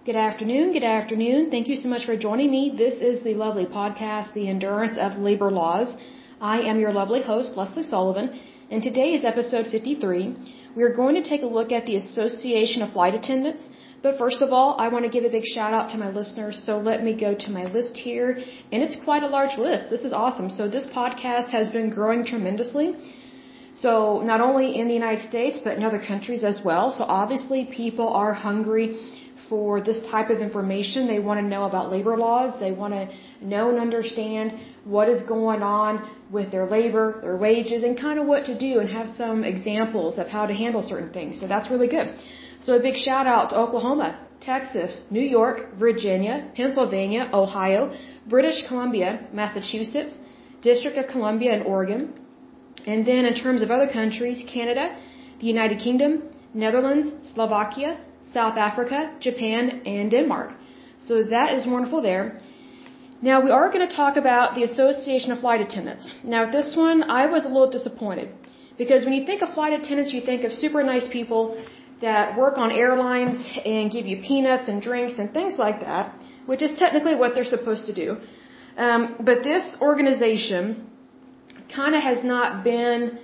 Good afternoon. Good afternoon. Thank you so much for joining me. This is the lovely podcast, The Endurance of Labor Laws. I am your lovely host, Leslie Sullivan, and today is episode 53. We are going to take a look at the Association of Flight Attendants. But first of all, I want to give a big shout out to my listeners. So let me go to my list here. And it's quite a large list. This is awesome. So this podcast has been growing tremendously. So not only in the United States, but in other countries as well. So obviously people are hungry for this type of information. They want to know about labor laws. They want to know and understand what is going on with their labor, their wages, and kind of what to do and have some examples of how to handle certain things. So that's really good. So a big shout out to Oklahoma, Texas, New York, Virginia, Pennsylvania, Ohio, British Columbia, Massachusetts, District of Columbia, and Oregon. And then in terms of other countries, Canada, the United Kingdom, Netherlands, Slovakia, South Africa, Japan, and Denmark. So that is wonderful there. Now we are going to talk about the Association of Flight Attendants. Now this one, I was a little disappointed because when you think of flight attendants, you think of super nice people that work on airlines and give you peanuts and drinks and things like that, which is technically what they're supposed to do. But this organization kind of has not been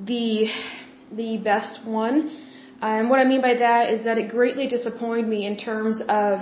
the best one. And what I mean by that is that it greatly disappointed me in terms of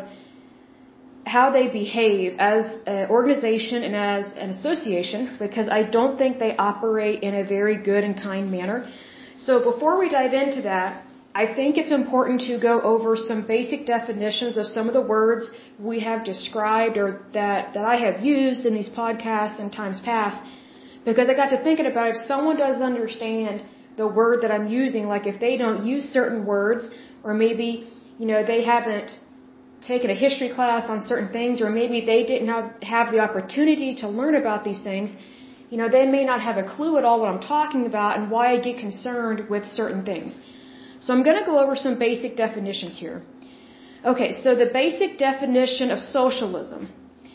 how they behave as an organization and as an association, because I don't think they operate in a very good and kind manner. So before we dive into that, I think it's important to go over some basic definitions of some of the words we have described or that I have used in these podcasts in times past, because I got to thinking about if someone doesn't understand the word that I'm using, like if they don't use certain words, or maybe, they haven't taken a history class on certain things, or maybe they didn't have the opportunity to learn about these things, they may not have a clue at all what I'm talking about and why I get concerned with certain things. So I'm going to go over some basic definitions here. Okay, so the basic definition of socialism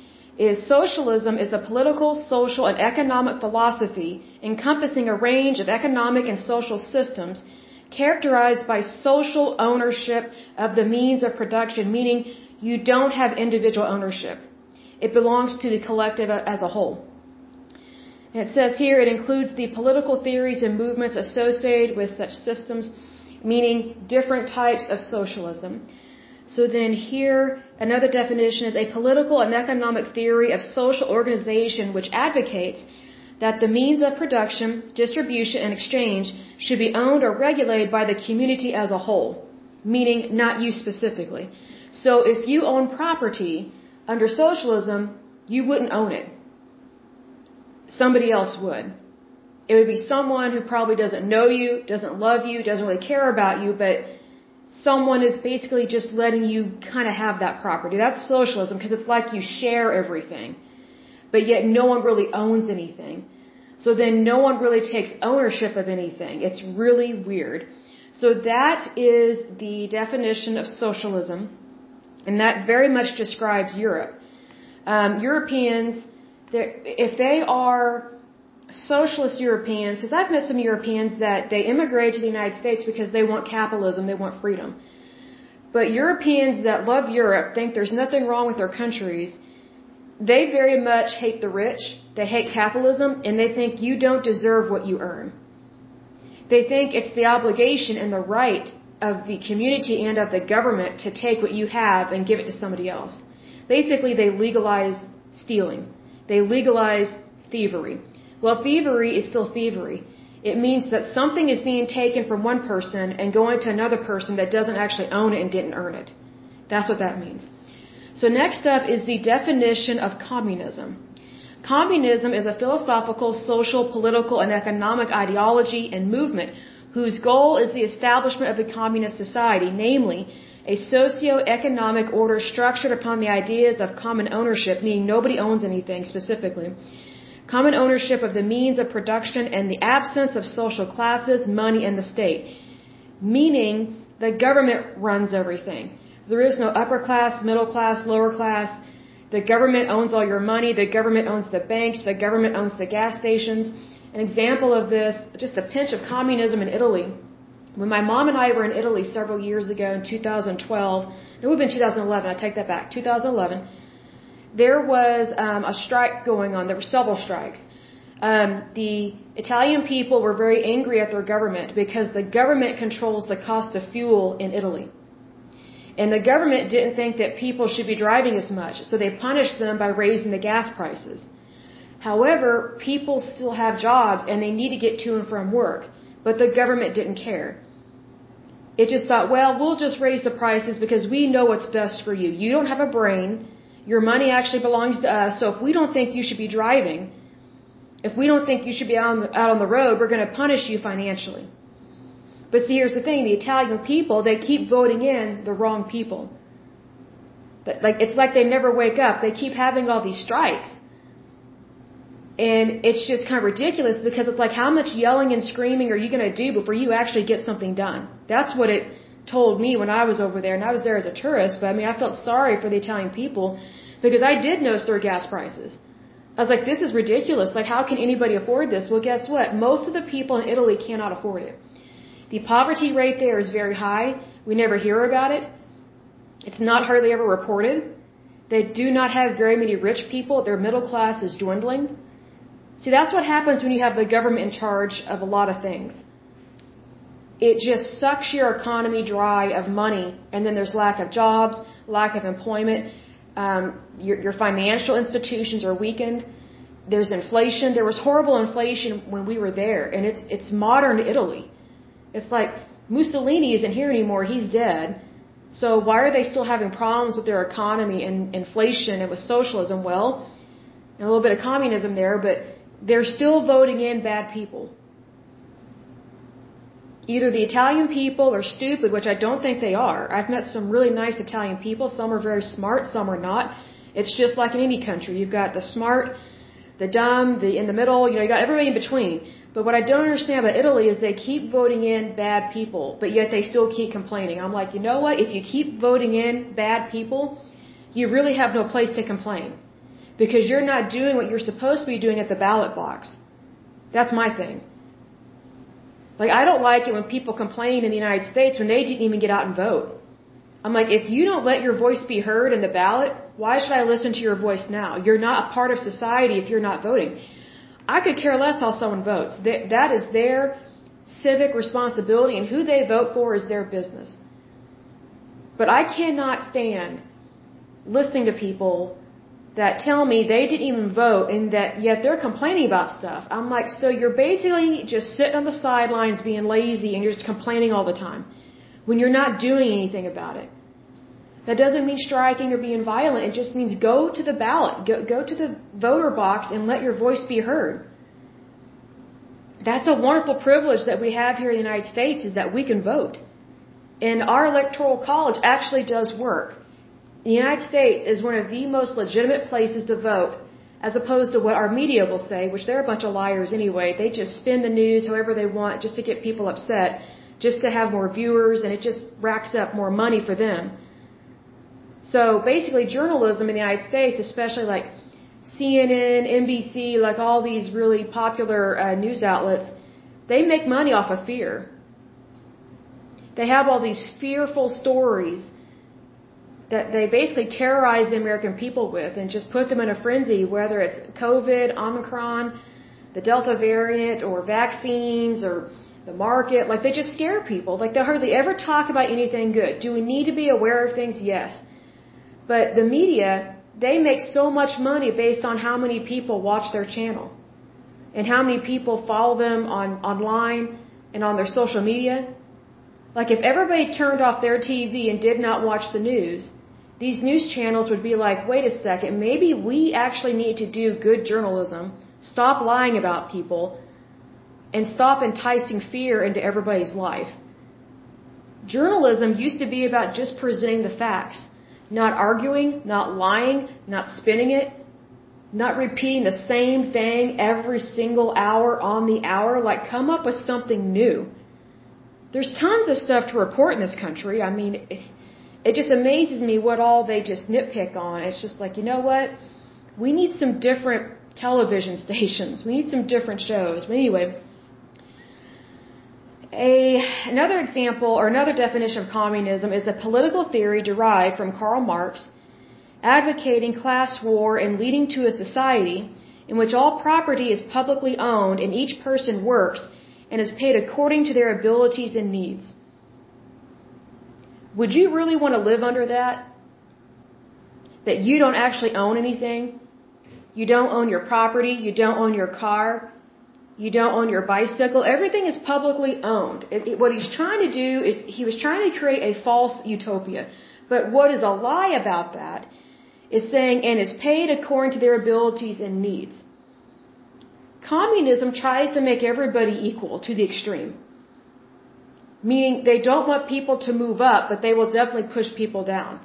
is a political, social, and economic philosophy encompassing a range of economic and social systems characterized by social ownership of the means of production, meaning you don't have individual ownership. It belongs to the collective as a whole. And it says here it includes the political theories and movements associated with such systems, meaning different types of socialism. So then here, another definition is a political and economic theory of social organization which advocates that the means of production, distribution, and exchange should be owned or regulated by the community as a whole, meaning not you specifically. So if you own property under socialism, you wouldn't own it. Somebody else would. It would be someone who probably doesn't know you, doesn't love you, doesn't really care about you, but someone is basically just letting you kind of have that property. That's socialism because it's like you share everything, but yet no one really owns anything. So then no one really takes ownership of anything. It's really weird. So that is the definition of socialism, and that very much describes Europe. Europeans, if they are socialist Europeans, because I've met some Europeans that they immigrated to the United States because they want capitalism, they want freedom. But Europeans that love Europe think there's nothing wrong with their countries. They very much hate the rich, they hate capitalism, and they think you don't deserve what you earn. They think it's the obligation and the right of the community and of the government to take what you have and give it to somebody else. Basically, they legalize stealing. They legalize thievery. Well, thievery is still thievery. It means that something is being taken from one person and going to another person that doesn't actually own it and didn't earn it. That's what that means. So next up is the definition of communism. Communism is a philosophical, social, political, and economic ideology and movement whose goal is the establishment of a communist society, namely a socio-economic order structured upon the ideas of common ownership, meaning nobody owns anything specifically, common ownership of the means of production, and the absence of social classes, money, and the state, meaning the government runs everything. There is no upper class, middle class, lower class. The government owns all your money. The government owns the banks. The government owns the gas stations. An example of this, just a pinch of communism in Italy. When my mom and I were in Italy several years ago in 2012, it would have been 2011, I take that back, 2011, there was a strike going on. There were several strikes. The Italian people were very angry at their government because the government controls the cost of fuel in Italy. And the government didn't think that people should be driving as much, so they punished them by raising the gas prices. However, people still have jobs and they need to get to and from work, but the government didn't care. It just thought, well, we'll just raise the prices because we know what's best for you. You don't have a brain. Your money actually belongs to us, so if we don't think you should be driving, if we don't think you should be out on the road, we're going to punish you financially. But see, here's the thing, the Italian people, they keep voting in the wrong people. It's like they never wake up. They keep having all these strikes. And it's just kind of ridiculous because it's like, how much yelling and screaming are you going to do before you actually get something done? That's what it told me when I was over there. And I was there as a tourist, but I mean, I felt sorry for the Italian people because I did notice their gas prices. I was like, this is ridiculous. Like, how can anybody afford this? Well, guess what? Most of the people in Italy cannot afford it. The poverty rate there is very high. We never hear about it. It's not hardly ever reported. They do not have very many rich people. Their middle class is dwindling. See, that's what happens when you have the government in charge of a lot of things. It just sucks your economy dry of money, and then there's lack of jobs, lack of employment. Your financial institutions are weakened. There's inflation. There was horrible inflation when we were there, and it's modern Italy. It's like Mussolini isn't here anymore. He's dead. So why are they still having problems with their economy and inflation and with socialism? Well, and a little bit of communism there, but they're still voting in bad people. Either the Italian people are stupid, which I don't think they are. I've met some really nice Italian people. Some are very smart, some are not. It's just like in any country. You've got the smart, the dumb, the in the middle, you got everybody in between. But what I don't understand about Italy is they keep voting in bad people, but yet they still keep complaining. I'm like, you know what? If you keep voting in bad people, you really have no place to complain. Because you're not doing what you're supposed to be doing at the ballot box. That's my thing. Like, I don't like it when people complain in the United States when they didn't even get out and vote. I'm like, if you don't let your voice be heard in the ballot, why should I listen to your voice now? You're not a part of society if you're not voting. I could care less how someone votes. That is their civic responsibility, and who they vote for is their business. But I cannot stand listening to people that tell me they didn't even vote and that yet they're complaining about stuff. I'm like, so you're basically just sitting on the sidelines being lazy and you're just complaining all the time when you're not doing anything about it. That doesn't mean striking or being violent. It just means go to the ballot, go to the voter box and let your voice be heard. That's a wonderful privilege that we have here in the United States, is that we can vote. And our electoral college actually does work. The United States is one of the most legitimate places to vote, as opposed to what our media will say, which they're a bunch of liars anyway. They just spin the news however they want just to get people upset, just to have more viewers, and it just racks up more money for them. So basically journalism in the United States, especially like CNN, NBC, like all these really popular news outlets, they make money off of fear. They have all these fearful stories that they basically terrorize the American people with and just put them in a frenzy, whether it's COVID, Omicron, the Delta variant, or vaccines, or the market. Like, they just scare people. Like, they hardly ever talk about anything good. Do we need to be aware of things? Yes. But the media, they make so much money based on how many people watch their channel and how many people follow them online and on their social media. Like, if everybody turned off their TV and did not watch the news, these news channels would be like, wait a second, maybe we actually need to do good journalism, stop lying about people, and stop enticing fear into everybody's life. Journalism used to be about just presenting the facts, not arguing, not lying, not spinning it, not repeating the same thing every single hour on the hour. Like, come up with something new. There's tons of stuff to report in this country. I mean, it just amazes me what all they just nitpick on. It's just like, you know what? We need some different television stations. We need some different shows. But anyway, Another example or another definition of communism is a political theory derived from Karl Marx, advocating class war and leading to a society in which all property is publicly owned and each person works and is paid according to their abilities and needs. Would you really want to live under that? That you don't actually own anything? You don't own your property, you don't own your car, you don't own your bicycle. Everything is publicly owned. What he's trying to do is he was trying to create a false utopia. But what is a lie about that is saying, and is paid according to their abilities and needs. Communism tries to make everybody equal to the extreme. Meaning they don't want people to move up, but they will definitely push people down.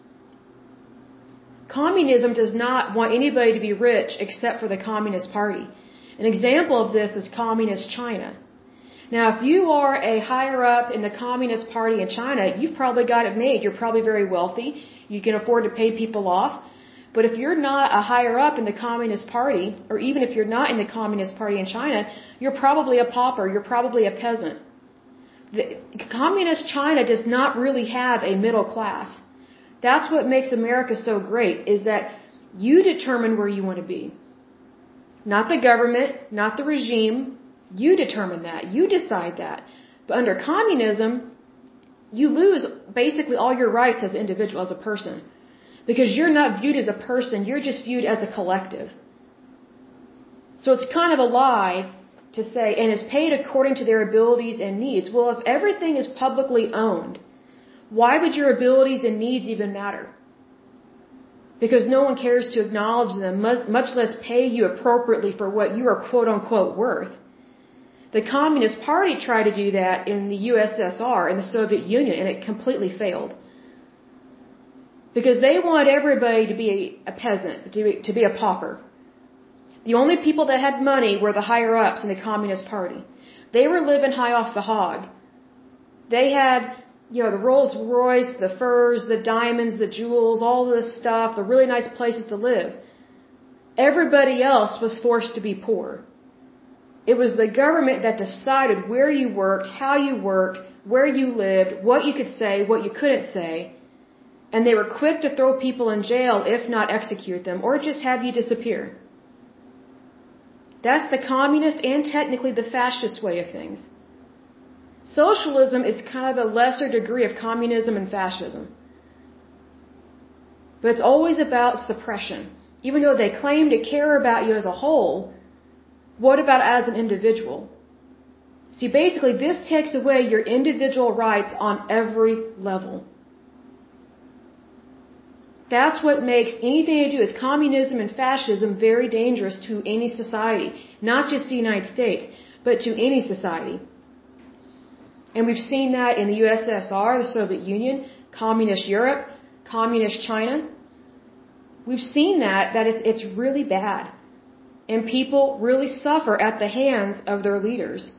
Communism does not want anybody to be rich except for the Communist Party. An example of this is Communist China. Now, if you are a higher up in the Communist Party in China, you've probably got it made. You're probably very wealthy. You can afford to pay people off. But if you're not a higher up in the Communist Party, or even if you're not in the Communist Party in China, you're probably a pauper. You're probably a peasant. Communist China does not really have a middle class. That's what makes America so great, is that you determine where you want to be. Not the government, not the regime. You determine that. You decide that. But under communism, you lose basically all your rights as an individual, as a person. Because you're not viewed as a person, you're just viewed as a collective. So it's kind of a lie to say, and is paid according to their abilities and needs. Well, if everything is publicly owned, why would your abilities and needs even matter? Because no one cares to acknowledge them, much less pay you appropriately for what you are quote-unquote worth. The Communist Party tried to do that in the USSR, in the Soviet Union, and it completely failed. Because they wanted everybody to be a peasant, to be a pauper. The only people that had money were the higher-ups in the Communist Party. They were living high off the hog. They had, the Rolls Royce, the furs, the diamonds, the jewels, all this stuff, the really nice places to live. Everybody else was forced to be poor. It was the government that decided where you worked, how you worked, where you lived, what you could say, what you couldn't say. And they were quick to throw people in jail, if not execute them, or just have you disappear. That's the communist and technically the fascist way of things. Socialism is kind of a lesser degree of communism and fascism. But it's always about suppression. Even though they claim to care about you as a whole, what about as an individual? See, basically this takes away your individual rights on every level. That's what makes anything to do with communism and fascism very dangerous to any society. Not just the United States, but to any society. And we've seen that in the USSR, the Soviet Union, Communist Europe, Communist China. We've seen that it's really bad. And people really suffer at the hands of their leaders.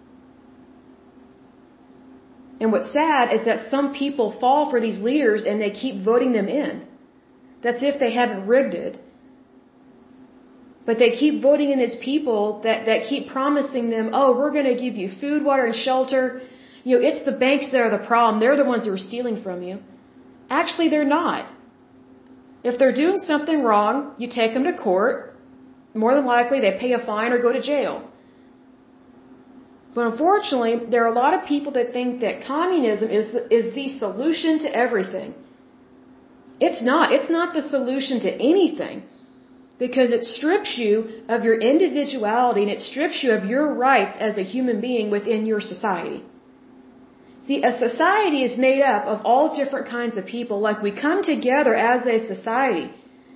And what's sad is that some people fall for these leaders and they keep voting them in. That's if they haven't rigged it. But they keep voting in these people that keep promising them, oh, we're going to give you food, water, and shelter. It's the banks that are the problem. They're the ones who are stealing from you. Actually, they're not. If they're doing something wrong, you take them to court. More than likely, they pay a fine or go to jail. But unfortunately, there are a lot of people that think that communism is the solution to everything. It's not. It's not the solution to anything. Because it strips you of your individuality and it strips you of your rights as a human being within your society. See, a society is made up of all different kinds of people. Like we come together as a society,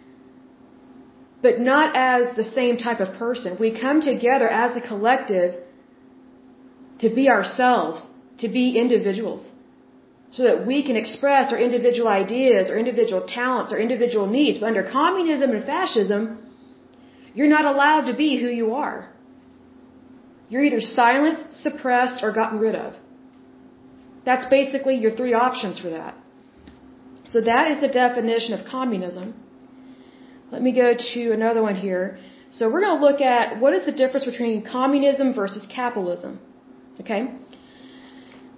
but not as the same type of person. We come together as a collective to be ourselves, to be individuals, so that we can express our individual ideas, or individual talents, or individual needs. But under communism and fascism, you're not allowed to be who you are. You're either silenced, suppressed, or gotten rid of. That's basically your three options for that. So that is the definition of communism. Let me go to another one here. So we're going to look at what is the difference between communism versus capitalism. Okay?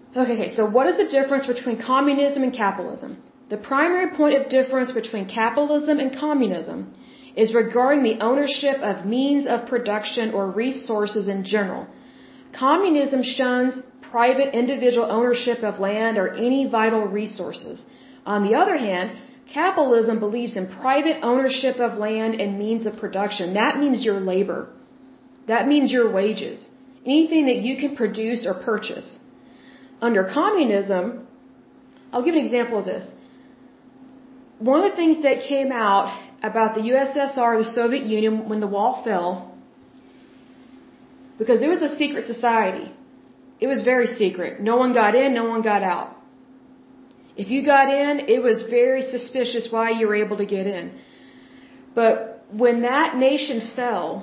Okay, so what is the difference between communism and capitalism? The primary point of difference between capitalism and communism is regarding the ownership of means of production or resources in general. Communism shuns private individual ownership of land or any vital resources. On the other hand, capitalism believes in private ownership of land and means of production. That means your labor. That means your wages. Anything that you can produce or purchase. Under communism, I'll give an example of this. One of the things that came out about the USSR, the Soviet Union, when the wall fell, because it was a secret society. It was very secret. No one got in, no one got out. If you got in, it was very suspicious why you were able to get in. But when that nation fell,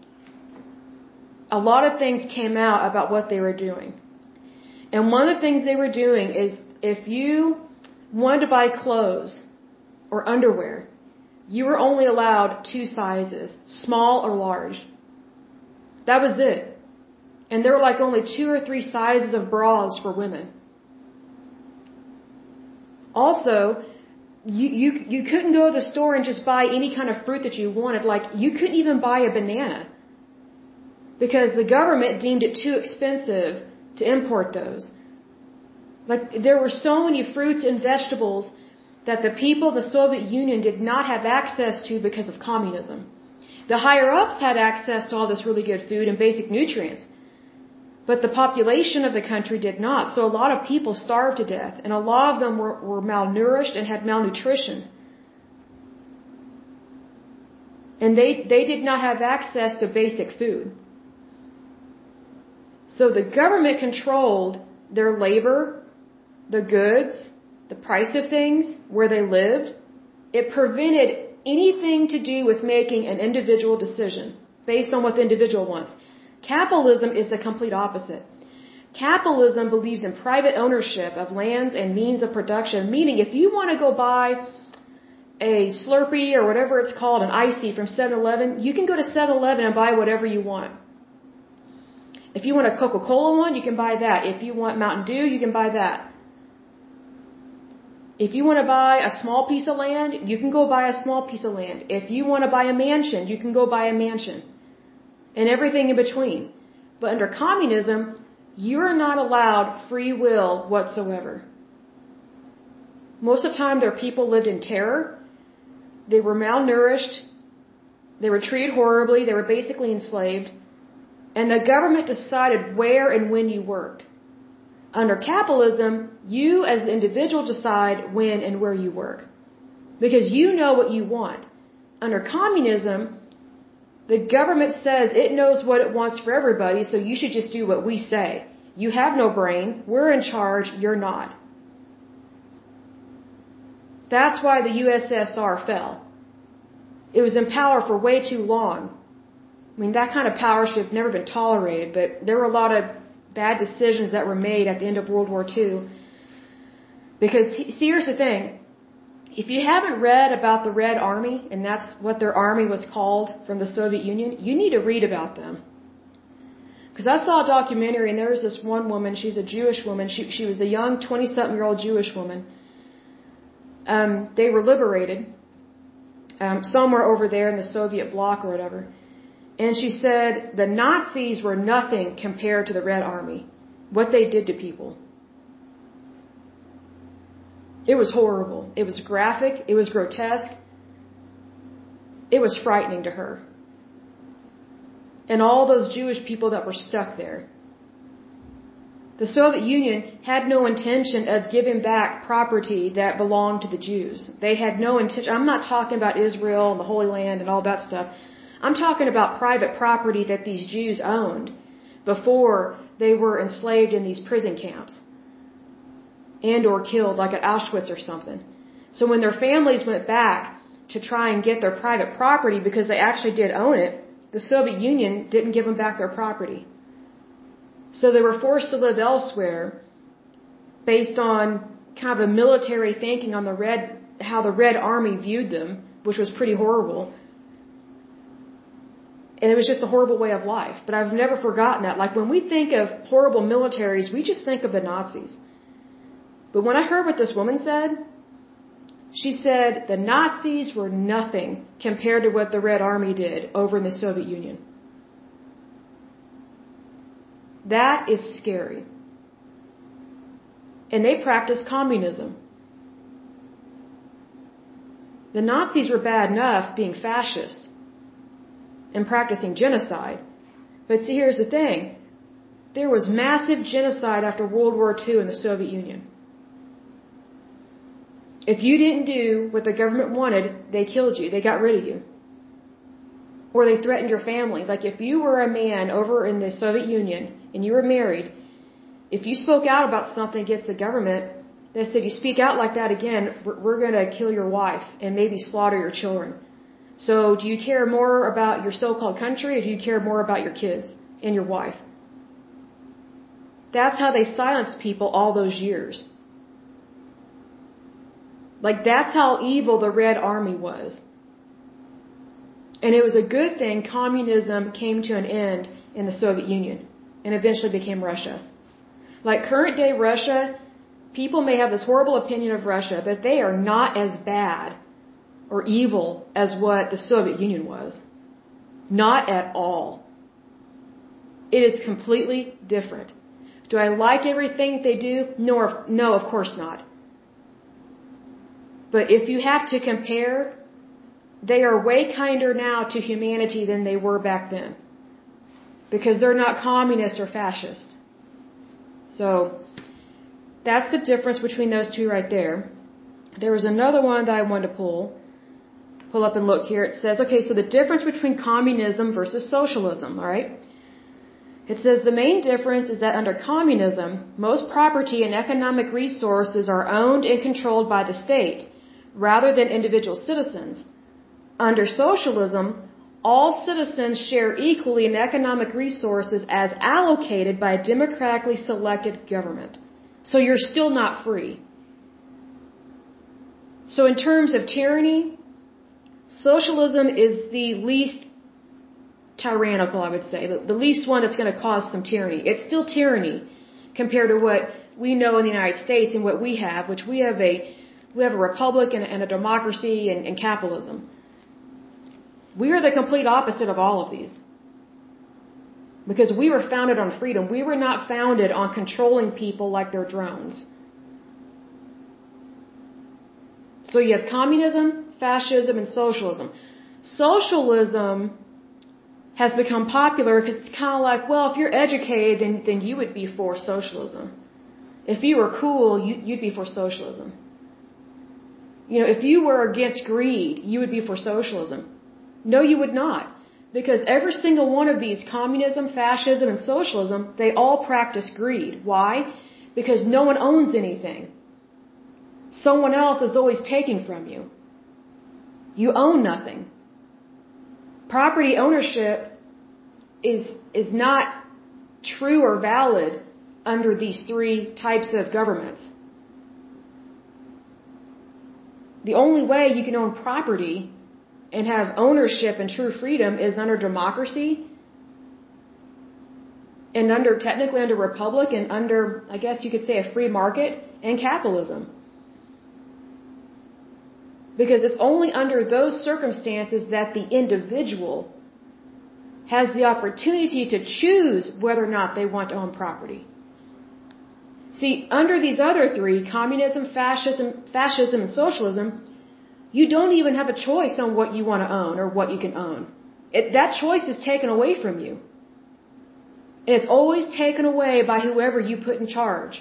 a lot of things came out about what they were doing. And one of the things they were doing is if you wanted to buy clothes or underwear, you were only allowed 2 sizes, small or large. That was it. And there were like only 2 or 3 sizes of bras for women. Also, you couldn't go to the store and just buy any kind of fruit that you wanted. Like, you couldn't even buy a banana because the government deemed it too expensive to import those. Like, there were so many fruits and vegetables that the people of the Soviet Union did not have access to because of communism. The higher-ups had access to all this really good food and basic nutrients. But the population of the country did not. So a lot of people starved to death. And a lot of them were malnourished and had malnutrition. And they did not have access to basic food. So the government controlled their labor, the goods, the price of things, where they lived. It prevented anything to do with making an individual decision based on what the individual wants. Capitalism is the complete opposite. Capitalism believes in private ownership of lands and means of production, meaning if you want to go buy a Slurpee or whatever it's called, an Icy from 7-Eleven, you can go to 7-Eleven and buy whatever you want. If you want a Coca-Cola one, you can buy that. If you want Mountain Dew, you can buy that. If you want to buy a small piece of land, you can go buy a small piece of land. If you want to buy a mansion, you can go buy a mansion. And everything in between. But under communism, you're not allowed free will whatsoever. Most of the time, their people lived in terror. They were malnourished. They were treated horribly. They were basically enslaved. And the government decided where and when you worked. Under capitalism, you as the individual decide when and where you work. Because you know what you want. Under communism, the government says it knows what it wants for everybody, so you should just do what we say. You have no brain. We're in charge. You're not. That's why the USSR fell. It was in power for way too long. I mean, that kind of power should have never been tolerated, but there were a lot of bad decisions that were made at the end of World War II. Because, see, here's the thing. If you haven't read about the Red Army, and that's what their army was called from the Soviet Union, you need to read about them. Because I saw a documentary, and there was this one woman, she's a Jewish woman, she was a young 20-something-year-old Jewish woman. They were liberated somewhere over there in the Soviet bloc or whatever. And she said the Nazis were nothing compared to the Red Army, what they did to people. It was horrible. It was graphic. It was grotesque. It was frightening to her. And all those Jewish people that were stuck there. The Soviet Union had no intention of giving back property that belonged to the Jews. They had no intention. I'm not talking about Israel and the Holy Land and all that stuff. I'm talking about private property that these Jews owned before they were enslaved in these prison camps and or killed, like at Auschwitz or something. So when their families went back to try and get their private property because they actually did own it, the Soviet Union didn't give them back their property. So they were forced to live elsewhere based on kind of the military thinking on how the Red Army viewed them, which was pretty horrible. And it was just a horrible way of life. But I've never forgotten that. Like when we think of horrible militaries, we just think of the Nazis. But when I heard what this woman said, she said the Nazis were nothing compared to what the Red Army did over in the Soviet Union. That is scary. And they practiced communism. The Nazis were bad enough being fascist and practicing genocide. But see, here's the thing. There was massive genocide after World War II in the Soviet Union. If you didn't do what the government wanted, they killed you. They got rid of you. Or they threatened your family. Like if you were a man over in the Soviet Union and you were married, if you spoke out about something against the government, they said, you speak out like that again, we're going to kill your wife and maybe slaughter your children. So do you care more about your so-called country or do you care more about your kids and your wife? That's how they silenced people all those years. Like that's how evil the Red Army was. And it was a good thing communism came to an end in the Soviet Union and eventually became Russia. Like current day Russia, people may have this horrible opinion of Russia, but they are not as bad or evil as what the Soviet Union was. Not at all. It is completely different. Do I like everything they do? No, of course not. But if you have to compare, they are way kinder now to humanity than they were back then. Because they're not communist or fascist. So, that's the difference between those two right there. There was another one that I wanted to pull up and look here. It says, okay, so the difference between communism versus socialism, alright? It says the main difference is that under communism, most property and economic resources are owned and controlled by the state, rather than individual citizens. Under socialism, all citizens share equally in economic resources as allocated by a democratically selected government. So you're still not free. So in terms of tyranny, socialism is the least tyrannical, I would say. The least one that's going to cause some tyranny. It's still tyranny compared to what we know in the United States and what we have, which we have a republic and a democracy and capitalism. We are the complete opposite of all of these. Because we were founded on freedom. We were not founded on controlling people like they're drones. So you have communism, fascism, and socialism. Socialism has become popular because it's kind of like, well, if you're educated, then you would be for socialism. If you were cool, you'd be for socialism. You know, if you were against greed, you would be for socialism. No, you would not. Because every single one of these, communism, fascism, and socialism, they all practice greed. Why? Because no one owns anything. Someone else is always taking from you. You own nothing. Property ownership is not true or valid under these three types of governments. The only way you can own property and have ownership and true freedom is under democracy and technically under republic and under, I guess you could say, a free market and capitalism. Because it's only under those circumstances that the individual has the opportunity to choose whether or not they want to own property. See, under these other three, communism, fascism, and socialism, you don't even have a choice on what you want to own or what you can own. That choice is taken away from you. And it's always taken away by whoever you put in charge.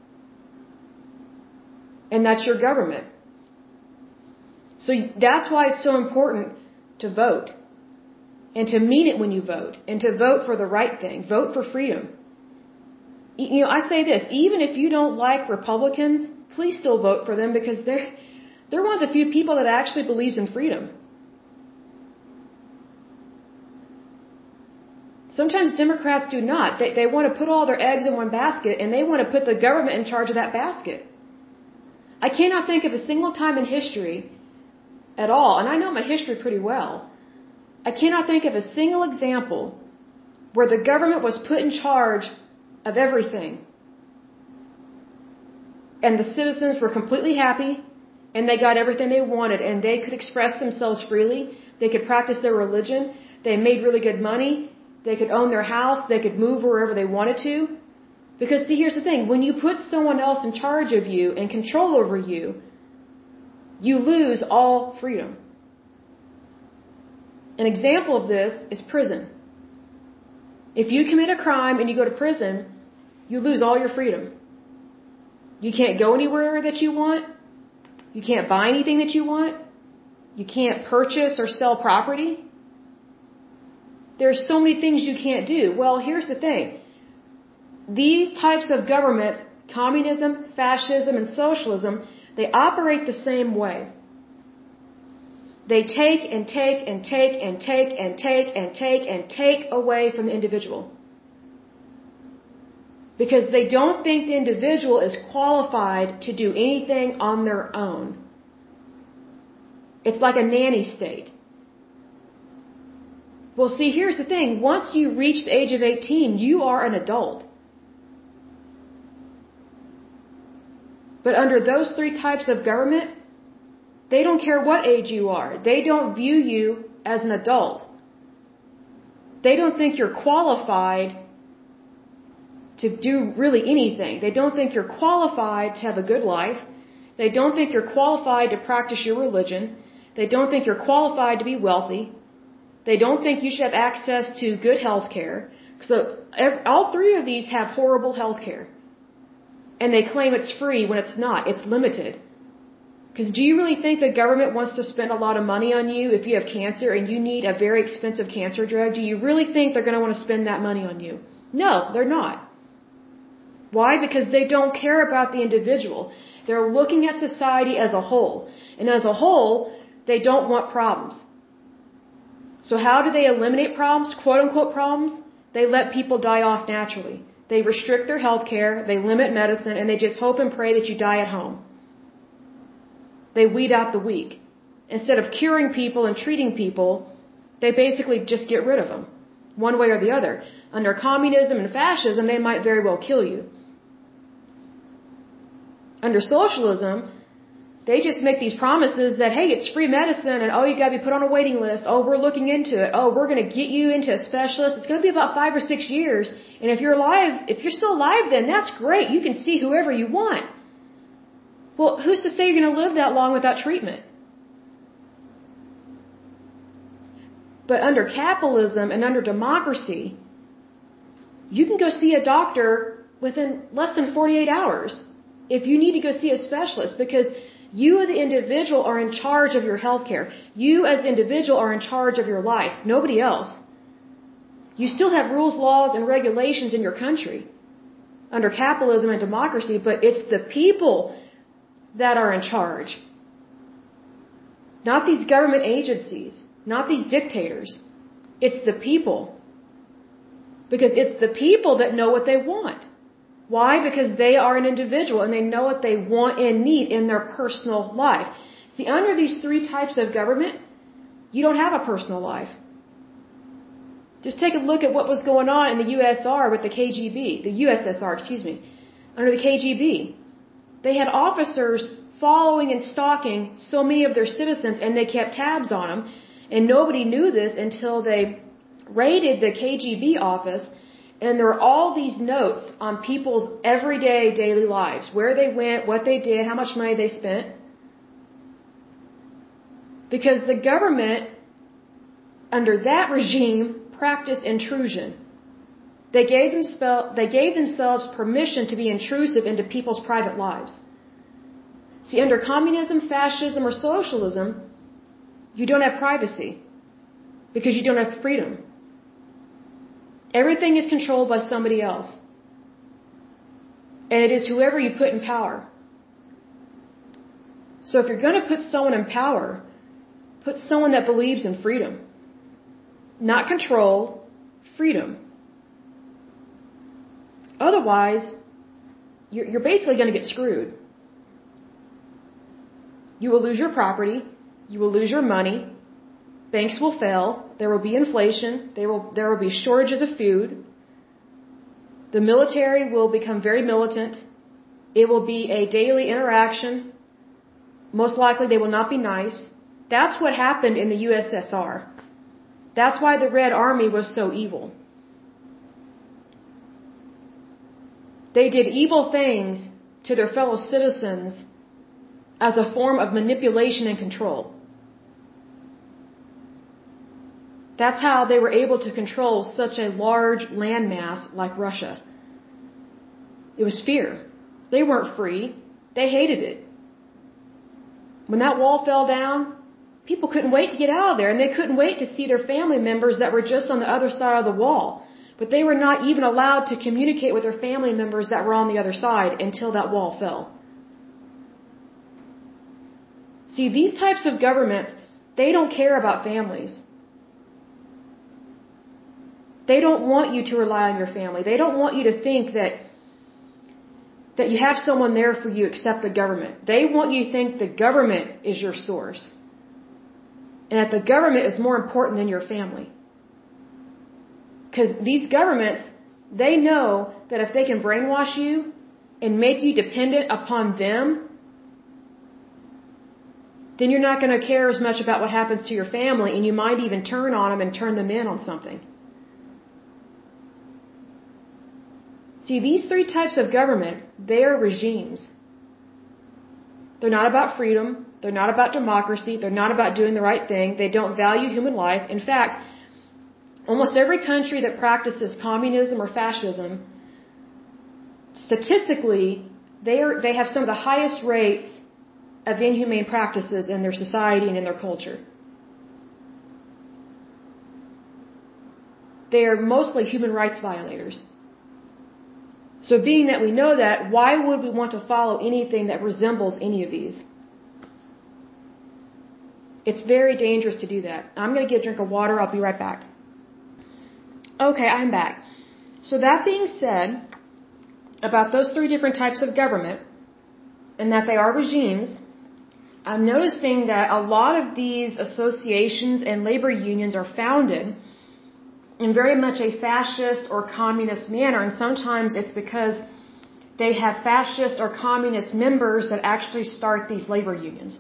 And that's your government. So that's why it's so important to vote. And to mean it when you vote. And to vote for the right thing. Vote for freedom. You know, I say this, even if you don't like Republicans, please still vote for them because they're one of the few people that actually believes in freedom. Sometimes Democrats do not. They want to put all their eggs in one basket and they want to put the government in charge of that basket. I cannot think of a single time in history at all, and I know my history pretty well, I cannot think of a single example where the government was put in charge of everything and the citizens were completely happy and they got everything they wanted and they could express themselves freely, they could practice their religion, they made really good money, they could own their house, they could move wherever they wanted to. Because see, here's the thing, when you put someone else in charge of you and control over you, you lose all freedom. An example of this is prison. If you commit a crime and you go to prison, you lose all your freedom. You can't go anywhere that you want. You can't buy anything that you want. You can't purchase or sell property. There's so many things you can't do. Well, here's the thing. These types of governments, communism, fascism, and socialism, they operate the same way. They take and take and take and take and take and take and take away from the individual. Because they don't think the individual is qualified to do anything on their own. It's like a nanny state. Well, see, here's the thing. Once you reach the age of 18, you are an adult. But under those three types of government, they don't care what age you are. They don't view you as an adult. They don't think you're qualified to do really anything. They don't think you're qualified to have a good life. They don't think you're qualified to practice your religion. They don't think you're qualified to be wealthy. They don't think you should have access to good health care. So all three of these have horrible health care. And they claim it's free when it's not. It's limited. Because do you really think the government wants to spend a lot of money on you if you have cancer and you need a very expensive cancer drug? Do you really think they're going to want to spend that money on you? No, they're not. Why? Because they don't care about the individual. They're looking at society as a whole. And as a whole, they don't want problems. So how do they eliminate problems, quote unquote problems? They let people die off naturally. They restrict their health care, they limit medicine, and they just hope and pray that you die at home. They weed out the weak. Instead of curing people and treating people, they basically just get rid of them, one way or the other. Under communism and fascism, they might very well kill you. Under socialism, they just make these promises that, hey, it's free medicine, and oh, you got to be put on a waiting list. Oh, we're looking into it. Oh, we're going to get you into a specialist. It's going to be about 5 or 6 years. And if you're alive, if you're still alive, then that's great. You can see whoever you want. Well, who's to say you're going to live that long without treatment? But under capitalism and under democracy, you can go see a doctor within less than 48 hours if you need to go see a specialist, because you, the individual, are in charge of your health care. You, as the individual, are in charge of your life. Nobody else. You still have rules, laws, and regulations in your country under capitalism and democracy, but it's the people that are in charge. Not these government agencies. Not these dictators. It's the people. Because it's the people that know what they want. Why? Because they are an individual and they know what they want and need in their personal life. See, under these three types of government, you don't have a personal life. Just take a look at what was going on in the USSR with the KGB, the USSR, excuse me, under the KGB. They had officers following and stalking so many of their citizens, and they kept tabs on them, and nobody knew this until they raided the KGB office. And there are all these notes on people's everyday, daily lives. Where they went, what they did, how much money they spent. Because the government, under that regime, practiced intrusion. They gave themselves permission to be intrusive into people's private lives. See, under communism, fascism, or socialism, you don't have privacy. Because you don't have freedom. Everything is controlled by somebody else. And it is whoever you put in power. So if you're going to put someone in power, put someone that believes in freedom. Not control, freedom. Otherwise, you're basically going to get screwed. You will lose your property. You will lose your money. banks will fail, there will be inflation, there will be shortages of food, the military will become very militant, it will be a daily interaction, most likely they will not be nice. That's what happened in the USSR. That's why the Red Army was so evil. They did evil things to their fellow citizens as a form of manipulation and control. That's how they were able to control such a large landmass like Russia. It was fear. They weren't free. They hated it. When that wall fell down, people couldn't wait to get out of there, and they couldn't wait to see their family members that were just on the other side of the wall. But they were not even allowed to communicate with their family members that were on the other side until that wall fell. See, these types of governments, they don't care about families. They don't want you to rely on your family. They don't want you to think that you have someone there for you except the government. They want you to think the government is your source. And that the government is more important than your family. Because these governments, they know that if they can brainwash you and make you dependent upon them, then you're not going to care as much about what happens to your family, and you might even turn on them and turn them in on something. See, these three types of government, they are regimes. They're not about freedom. They're not about democracy. They're not about doing the right thing. They don't value human life. In fact, almost every country that practices communism or fascism, statistically, they have some of the highest rates of inhumane practices in their society and in their culture. They are mostly human rights violators. So being that we know that, why would we want to follow anything that resembles any of these? It's very dangerous to do that. I'm going to get a drink of water. I'll be right back. Okay, I'm back. So that being said, about those three different types of government, and that they are regimes, I'm noticing that a lot of these associations and labor unions are founded in very much a fascist or communist manner, and sometimes it's because they have fascist or communist members that actually start these labor unions.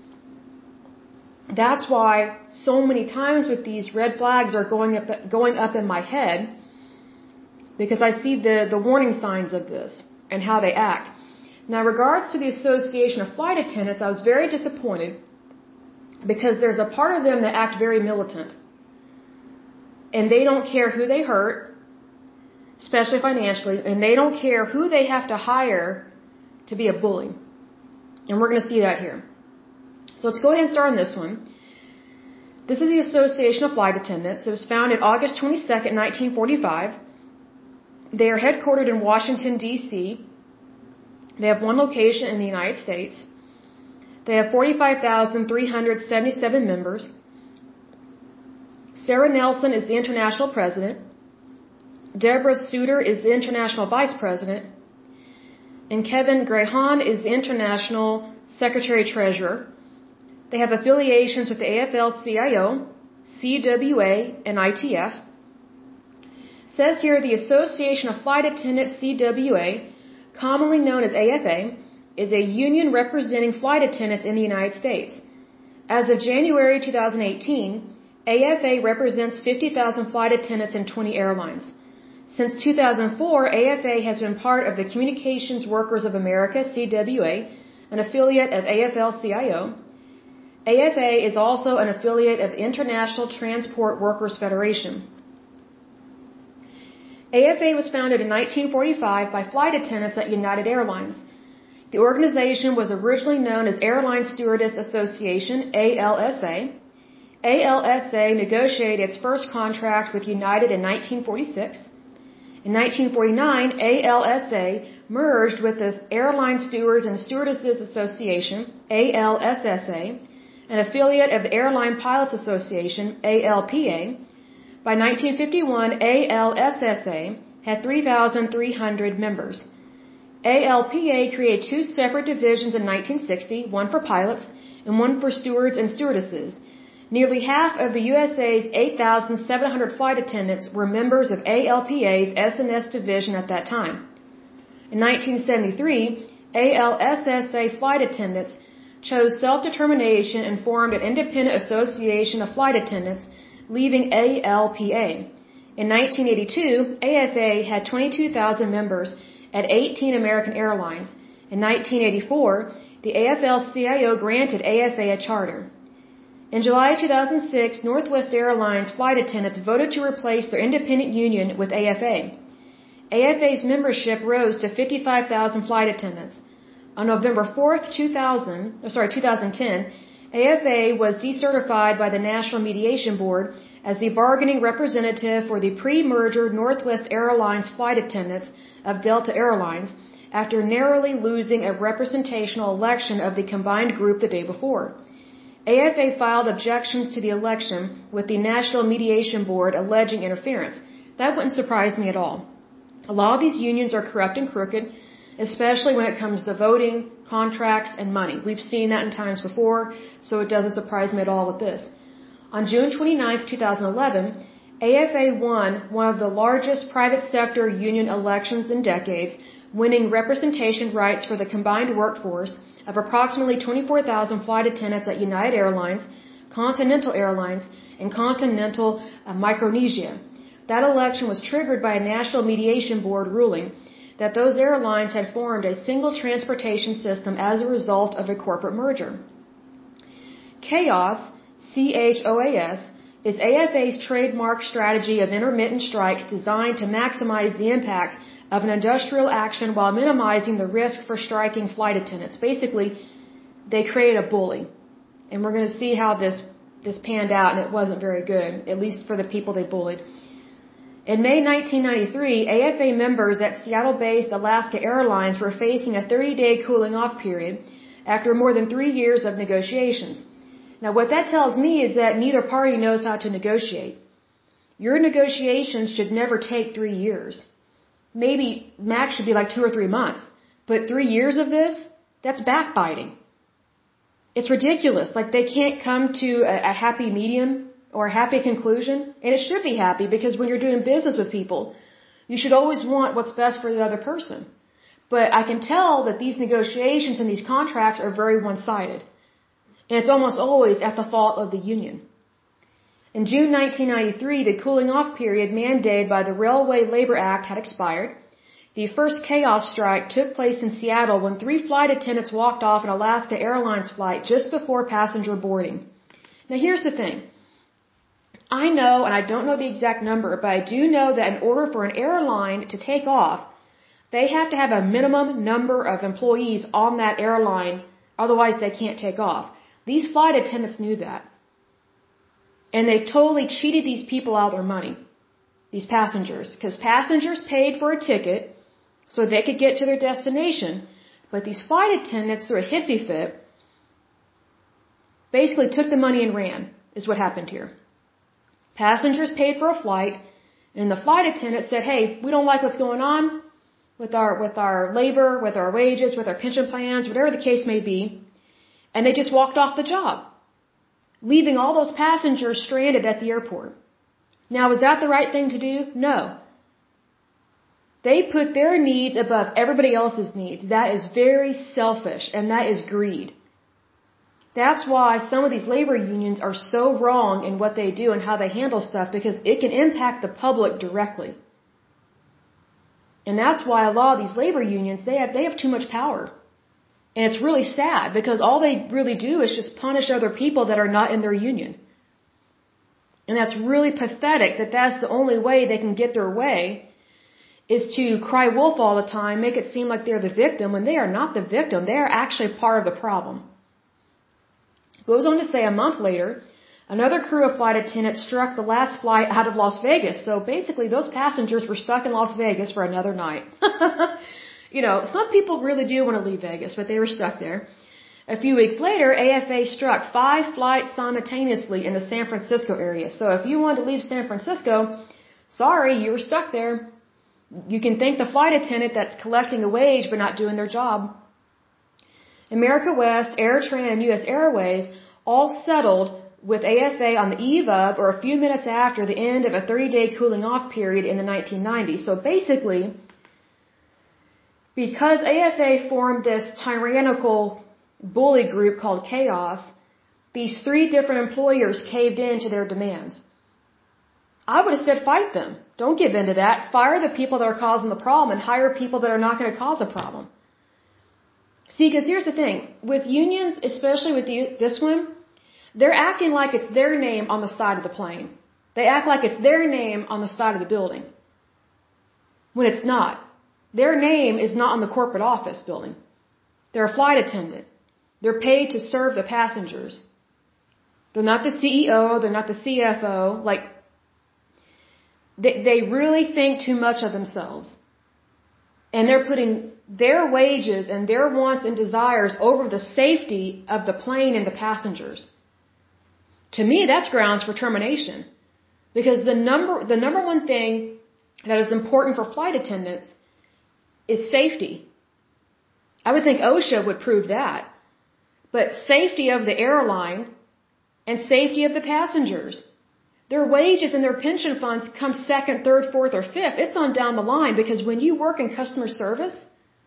That's why so many times with these red flags are going up in my head, because I see the warning signs of this and how they act. Now, in regards to the Association of Flight Attendants, I was very disappointed because there's a part of them that act very militant. And they don't care who they hurt, especially financially, and they don't care who they have to hire to be a bully. And we're going to see that here. So let's go ahead and start on this one. This is the Association of Flight Attendants. It was founded August 22nd, 1945. They are headquartered in Washington, D.C. They have one location in the United States. They have 45,377 members. Sarah Nelson is the international president. Deborah Suter is the international vice president. And Kevin Grahan is the international secretary-treasurer. They have affiliations with the AFL-CIO, CWA, and ITF. It says here the Association of Flight Attendants, CWA, commonly known as AFA, is a union representing flight attendants in the United States. As of January 2018, AFA represents 50,000 flight attendants in 20 airlines. Since 2004, AFA has been part of the Communications Workers of America, CWA, an affiliate of AFL-CIO. AFA is also an affiliate of the International Transport Workers Federation. AFA was founded in 1945 by flight attendants at United Airlines. The organization was originally known as Airline Stewardess Association, ALSA. ALSA negotiated its first contract with United in 1946. In 1949, ALSA merged with the Airline Stewards and Stewardesses Association, ALSSA, an affiliate of the Airline Pilots Association, ALPA. By 1951, ALSSA had 3,300 members. ALPA created two separate divisions in 1960, one for pilots and one for stewards and stewardesses. Nearly half of the USA's 8,700 flight attendants were members of ALPA's S&S division at that time. In 1973, ALSSA flight attendants chose self-determination and formed an independent association of flight attendants, leaving ALPA. In 1982, AFA had 22,000 members at 18 American airlines. In 1984, the AFL-CIO granted AFA a charter. In July 2006, Northwest Airlines flight attendants voted to replace their independent union with AFA. AFA's membership rose to 55,000 flight attendants. On November 4th, 2010, AFA was decertified by the National Mediation Board as the bargaining representative for the pre-merger Northwest Airlines flight attendants of Delta Airlines after narrowly losing a representational election of the combined group the day before. AFA filed objections to the election with the National Mediation Board alleging interference. That wouldn't surprise me at all. A lot of these unions are corrupt and crooked, especially when it comes to voting, contracts, and money. We've seen that in times before, so it doesn't surprise me at all with this. On June 29, 2011, AFA won one of the largest private sector union elections in decades, winning representation rights for the combined workforce of approximately 24,000 flight attendants at United Airlines, Continental Airlines, and Continental Micronesia. That election was triggered by a National Mediation Board ruling that those airlines had formed a single transportation system as a result of a corporate merger. CHOAS, CHOAS, is AFA's trademark strategy of intermittent strikes designed to maximize the impact of an industrial action while minimizing the risk for striking flight attendants. Basically, they created a bully. And we're going to see how this panned out, and it wasn't very good, at least for the people they bullied. In May 1993, AFA members at Seattle-based Alaska Airlines were facing a 30-day cooling-off period after more than 3 years of negotiations. Now, what that tells me is that neither party knows how to negotiate. Your negotiations should never take 3 years. Maybe max should be like 2 or 3 months. But 3 years of this? That's backbiting. It's ridiculous. Like, they can't come to a happy medium or a happy conclusion. And it should be happy, because when you're doing business with people, you should always want what's best for the other person. But I can tell that these negotiations and these contracts are very one-sided. And it's almost always at the fault of the union. In June 1993, the cooling-off period mandated by the Railway Labor Act had expired. The first chaos strike took place in Seattle when 3 flight attendants walked off an Alaska Airlines flight just before passenger boarding. Now, here's the thing. I know, and I don't know the exact number, but I do know that in order for an airline to take off, they have to have a minimum number of employees on that airline, otherwise they can't take off. These flight attendants knew that. And they totally cheated these people out of their money, these passengers, because passengers paid for a ticket so they could get to their destination, but these flight attendants, through a hissy fit, basically took the money and ran, is what happened here. Passengers paid for a flight, and the flight attendant said, hey, we don't like what's going on with our labor, with our wages, with our pension plans, whatever the case may be, and they just walked off the job, leaving all those passengers stranded at the airport. Now, is that the right thing to do? No. They put their needs above everybody else's needs. That is very selfish, and that is greed. That's why some of these labor unions are so wrong in what they do and how they handle stuff, because it can impact the public directly. And that's why a lot of these labor unions, they have too much power. And it's really sad, because all they really do is just punish other people that are not in their union. And that's really pathetic that that's the only way they can get their way, is to cry wolf all the time, make it seem like they're the victim, when they are not the victim. They are actually part of the problem. Goes on to say a month later, another crew of flight attendants struck the last flight out of Las Vegas. So basically those passengers were stuck in Las Vegas for another night. You know, some people really do want to leave Vegas, but they were stuck there. A few weeks later, AFA struck 5 flights simultaneously in the San Francisco area. So if you wanted to leave San Francisco, sorry, you were stuck there. You can thank the flight attendant that's collecting a wage but not doing their job. America West, AirTran, and U.S. Airways all settled with AFA on the eve of or a few minutes after the end of a 30-day cooling off period in the 1990s. So basically, because AFA formed this tyrannical bully group called Chaos, these 3 different employers caved in to their demands. I would have said fight them. Don't give in to that. Fire the people that are causing the problem and hire people that are not going to cause a problem. See, because here's the thing. With unions, especially with this one, they're acting like it's their name on the side of the plane. They act like it's their name on the side of the building. When it's not. Their name is not on the corporate office building. They're a flight attendant. They're paid to serve the passengers. They're not the CEO. They're not the CFO. Like, they really think too much of themselves. And they're putting their wages and their wants and desires over the safety of the plane and the passengers. To me, that's grounds for termination. Because the number one thing that is important for flight attendants is safety. I would think OSHA would prove that. But safety of the airline and safety of the passengers. Their wages and their pension funds come second, third, fourth, or fifth. It's on down the line, because when you work in customer service,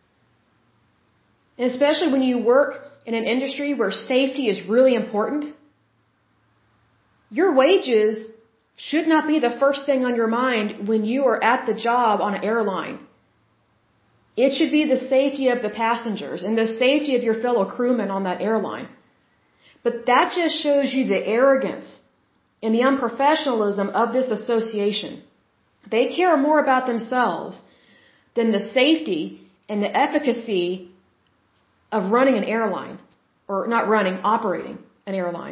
and especially when you work in an industry where safety is really important, your wages should not be the first thing on your mind when you are at the job on an airline. It should be the safety of the passengers and the safety of your fellow crewmen on that airline. But that just shows you the arrogance and the unprofessionalism of this association. They care more about themselves than the safety and the efficacy of running an airline. Or not running, operating an airline.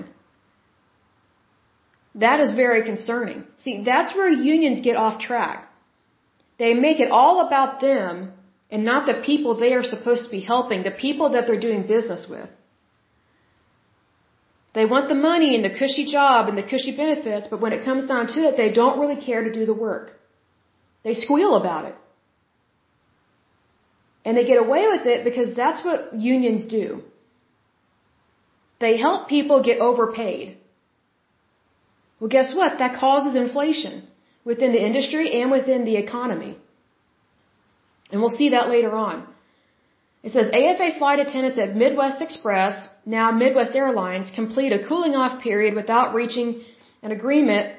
That is very concerning. See, that's where unions get off track. They make it all about them and not the people they are supposed to be helping, the people that they're doing business with. They want the money and the cushy job and the cushy benefits, but when it comes down to it, they don't really care to do the work. They squeal about it. And they get away with it because that's what unions do. They help people get overpaid. Well, guess what? That causes inflation within the industry and within the economy. And we'll see that later on. It says AFA flight attendants at Midwest Express, now Midwest Airlines, complete a cooling off period without reaching agreement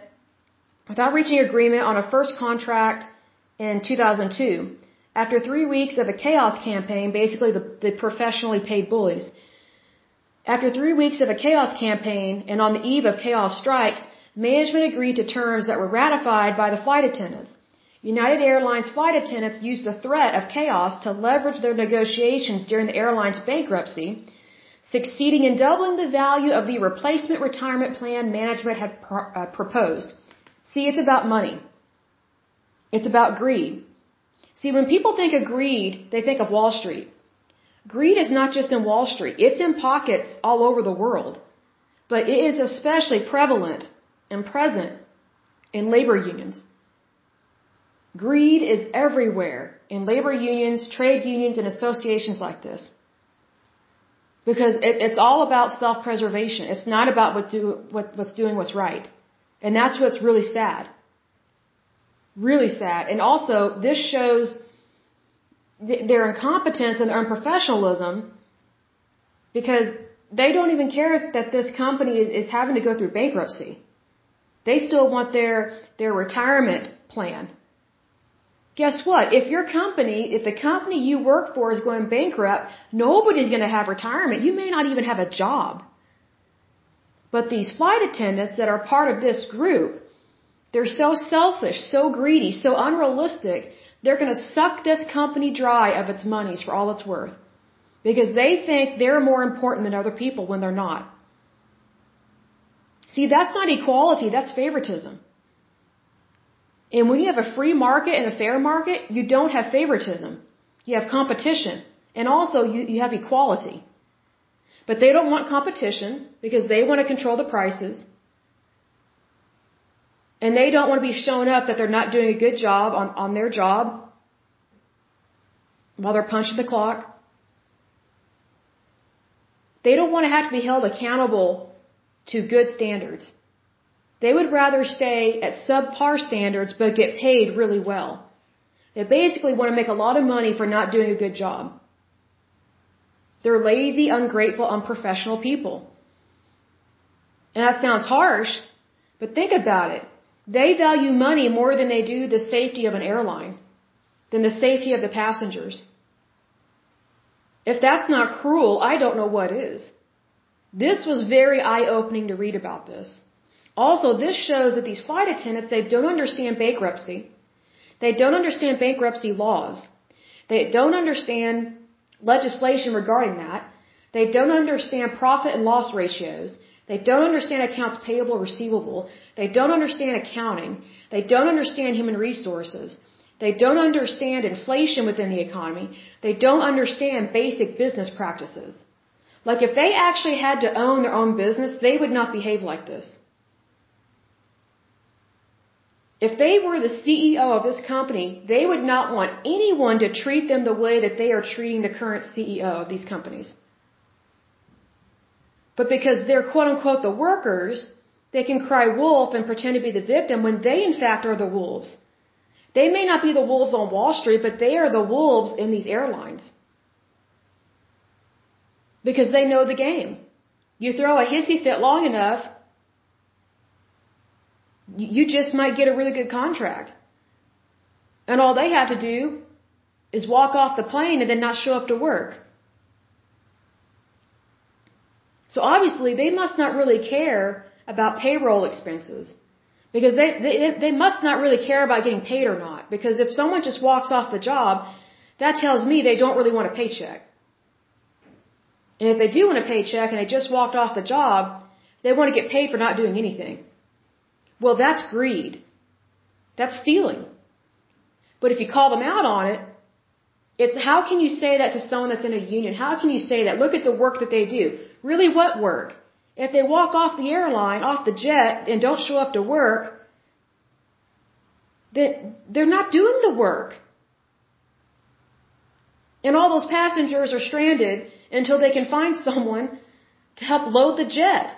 on a first contract in 2002. After 3 weeks of a chaos campaign, basically the professionally paid bullies. After 3 weeks of a chaos campaign and on the eve of chaos strikes, management agreed to terms that were ratified by the flight attendants. United Airlines flight attendants used the threat of chaos to leverage their negotiations during the airline's bankruptcy, succeeding in doubling the value of the replacement retirement plan management had proposed. See, it's about money. It's about greed. See, when people think of greed, they think of Wall Street. Greed is not just in Wall Street. It's in pockets all over the world. But it is especially prevalent and present in labor unions. Greed is everywhere in labor unions, trade unions, and associations like this. Because it's all about self-preservation. It's not about what's doing what's right. And that's what's really sad. Really sad. And also, this shows their incompetence and their unprofessionalism, because they don't even care that this company is having to go through bankruptcy. They still want their retirement plan. Guess what? If the company you work for is going bankrupt, nobody's going to have retirement. You may not even have a job. But these flight attendants that are part of this group, they're so selfish, so greedy, so unrealistic, they're going to suck this company dry of its monies for all it's worth. Because they think they're more important than other people when they're not. See, that's not equality, that's favoritism. And when you have a free market and a fair market, you don't have favoritism. You have competition. And also you have equality. But they don't want competition because they want to control the prices. And they don't want to be shown up that they're not doing a good job on their job while they're punching the clock. They don't want to have to be held accountable to good standards. They would rather stay at subpar standards but get paid really well. They basically want to make a lot of money for not doing a good job. They're lazy, ungrateful, unprofessional people. And that sounds harsh, but think about it. They value money more than they do the safety of an airline, than the safety of the passengers. If that's not cruel, I don't know what is. This was very eye-opening to read about this. Also, this shows that these flight attendants, they don't understand bankruptcy. They don't understand bankruptcy laws. They don't understand legislation regarding that. They don't understand profit and loss ratios. They don't understand accounts payable, receivable. They don't understand accounting. They don't understand human resources. They don't understand inflation within the economy. They don't understand basic business practices. Like if they actually had to own their own business, they would not behave like this. If they were the CEO of this company, they would not want anyone to treat them the way that they are treating the current CEO of these companies. But because they're quote unquote the workers, they can cry wolf and pretend to be the victim when they in fact are the wolves. They may not be the wolves on Wall Street, but they are the wolves in these airlines. Because they know the game. You throw a hissy fit long enough, you just might get a really good contract. And all they have to do is walk off the plane and then not show up to work. So obviously they must not really care about payroll expenses. Because they must not really care about getting paid or not. Because if someone just walks off the job, that tells me they don't really want a paycheck. And if they do want a paycheck and they just walked off the job, they want to get paid for not doing anything. Well, that's greed. That's stealing. But if you call them out on it, it's how can you say that to someone that's in a union? How can you say that? Look at the work that they do. Really, what work? If they walk off the airline, off the jet, and don't show up to work, they're not doing the work. And all those passengers are stranded until they can find someone to help load the jet.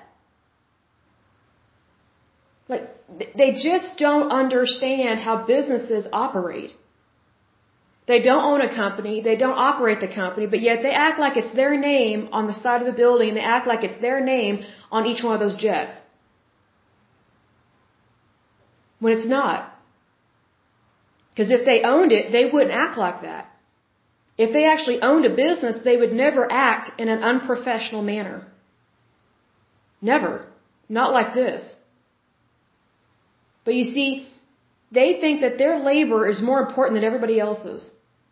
Like, they just don't understand how businesses operate. They don't own a company, they don't operate the company, but yet they act like it's their name on the side of the building, they act like it's their name on each one of those jets. When it's not. Because if they owned it, they wouldn't act like that. If they actually owned a business, they would never act in an unprofessional manner. Never. Not like this. But you see, they think that their labor is more important than everybody else's.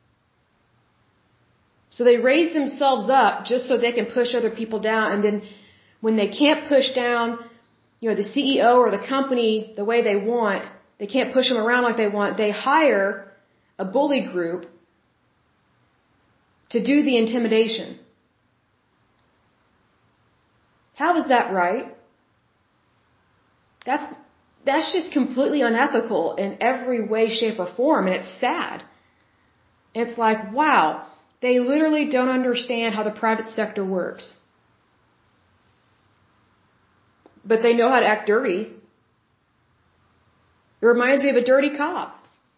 So they raise themselves up just so they can push other people down. And then when they can't push down, the CEO or the company the way they want, they can't push them around like they want, they hire a bully group to do the intimidation. How is that right? That's just completely unethical in every way, shape, or form, and it's sad. It's like, wow, they literally don't understand how the private sector works. But they know how to act dirty. It reminds me of a dirty cop.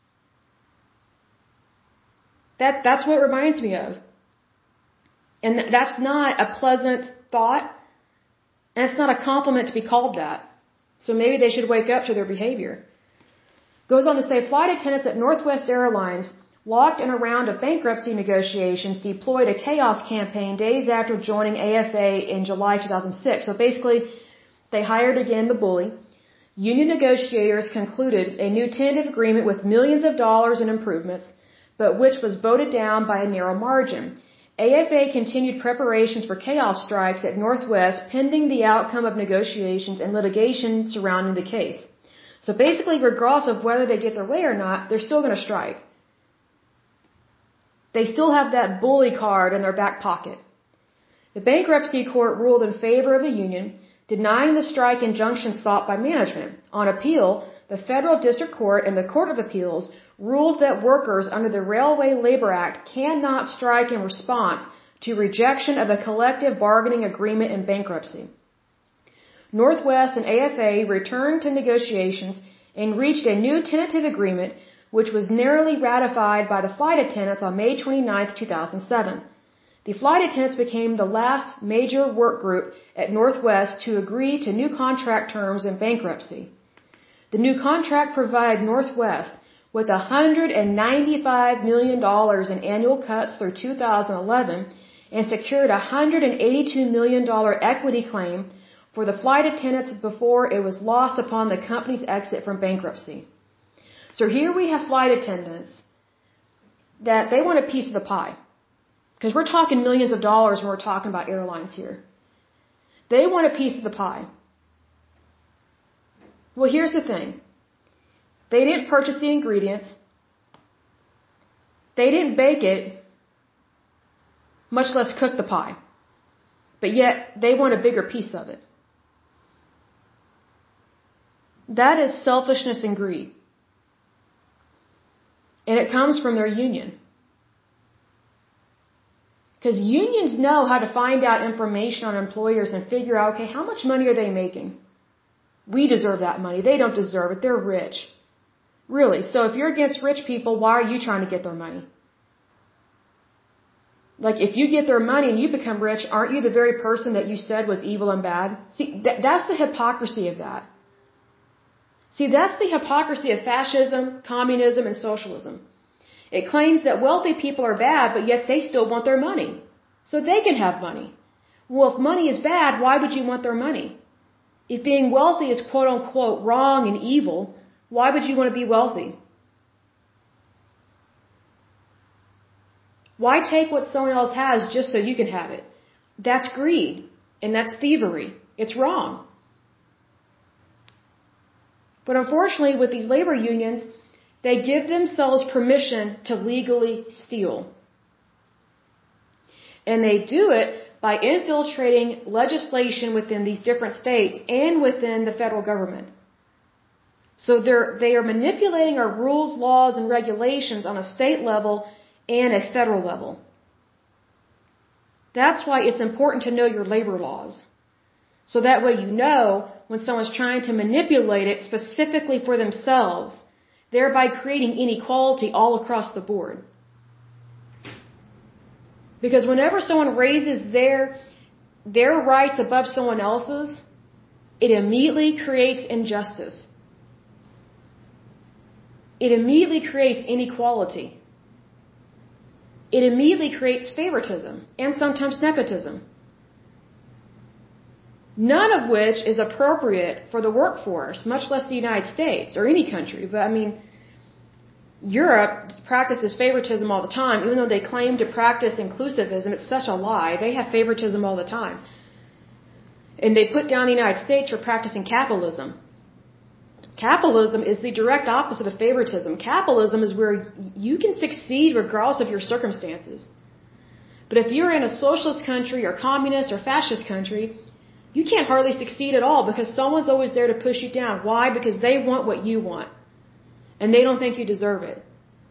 That's what it reminds me of. And that's not a pleasant thought, and it's not a compliment to be called that. So maybe they should wake up to their behavior. Goes on to say, flight attendants at Northwest Airlines, locked in a round of bankruptcy negotiations, deployed a chaos campaign days after joining AFA in July 2006. So basically, they hired again the bully. Union negotiators concluded a new tentative agreement with millions of dollars in improvements, but which was voted down by a narrow margin. AFA continued preparations for chaos strikes at Northwest pending the outcome of negotiations and litigation surrounding the case. So basically, regardless of whether they get their way or not, they're still going to strike. They still have that bully card in their back pocket. The bankruptcy court ruled in favor of the union, denying the strike injunction sought by management. On appeal, the Federal District Court and the Court of Appeals ruled that workers under the Railway Labor Act cannot strike in response to rejection of a collective bargaining agreement in bankruptcy. Northwest and AFA returned to negotiations and reached a new tentative agreement, which was narrowly ratified by the flight attendants on May 29, 2007. The flight attendants became the last major work group at Northwest to agree to new contract terms in bankruptcy. The new contract provided Northwest with $195 million in annual cuts through 2011 and secured a $182 million equity claim for the flight attendants before it was lost upon the company's exit from bankruptcy. So here we have flight attendants that they want a piece of the pie. Because we're talking millions of dollars when we're talking about airlines here. They want a piece of the pie. Well, here's the thing. They didn't purchase the ingredients. They didn't bake it, much less cook the pie. But yet, they want a bigger piece of it. That is selfishness and greed. And it comes from their union. Because unions know how to find out information on employers and figure out, okay, how much money are they making? We deserve that money. They don't deserve it. They're rich. Really. So if you're against rich people, why are you trying to get their money? Like, if you get their money and you become rich, aren't you the very person that you said was evil and bad? See, that's the hypocrisy of that. See, that's the hypocrisy of fascism, communism, and socialism. It claims that wealthy people are bad, but yet they still want their money. So they can have money. Well, if money is bad, why would you want their money? If being wealthy is quote unquote wrong and evil, why would you want to be wealthy? Why take what someone else has just so you can have it? That's greed. And that's thievery. It's wrong. But unfortunately, with these labor unions, they give themselves permission to legally steal. And they do it by infiltrating legislation within these different states and within the federal government. So they are manipulating our rules, laws, and regulations on a state level and a federal level. That's why it's important to know your labor laws. So that way you know when someone's trying to manipulate it specifically for themselves, thereby creating inequality all across the board. Because whenever someone raises their rights above someone else's, it immediately creates injustice. It immediately creates inequality. It immediately creates favoritism and sometimes nepotism. None of which is appropriate for the workforce, much less the United States or any country. But I mean, Europe practices favoritism all the time, even though they claim to practice inclusivism. It's such a lie. They have favoritism all the time. And they put down the United States for practicing capitalism. Capitalism is the direct opposite of favoritism. Capitalism is where you can succeed regardless of your circumstances. But if you're in a socialist country or communist or fascist country, you can't hardly succeed at all because someone's always there to push you down. Why? Because they want what you want. And they don't think you deserve it.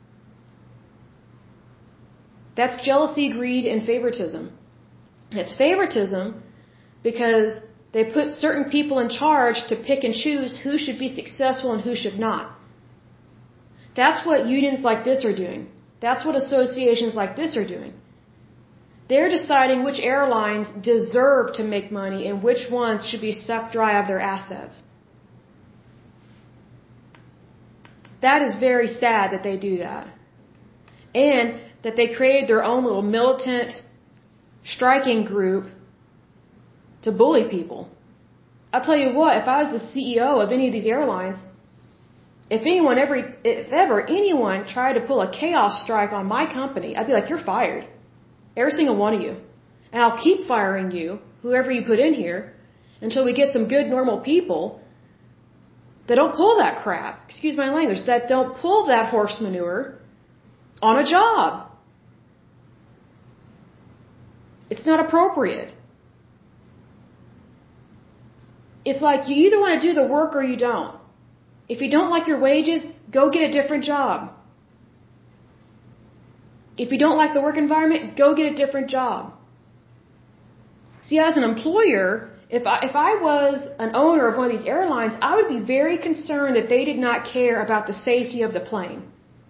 That's jealousy, greed, and favoritism. It's favoritism because they put certain people in charge to pick and choose who should be successful and who should not. That's what unions like this are doing. That's what associations like this are doing. They're deciding which airlines deserve to make money and which ones should be sucked dry of their assets. That is very sad that they do that. And that they created their own little militant striking group to bully people. I'll tell you what, if I was the CEO of any of these airlines, if ever anyone tried to pull a chaos strike on my company, I'd be like, you're fired. Every single one of you. And I'll keep firing you, whoever you put in here, until we get some good, normal people that don't pull that crap, excuse my language, that don't pull that horse manure on a job. It's not appropriate. It's like you either want to do the work or you don't. If you don't like your wages, go get a different job. If you don't like the work environment, go get a different job. See, as an employer, If I was an owner of one of these airlines, I would be very concerned that they did not care about the safety of the plane.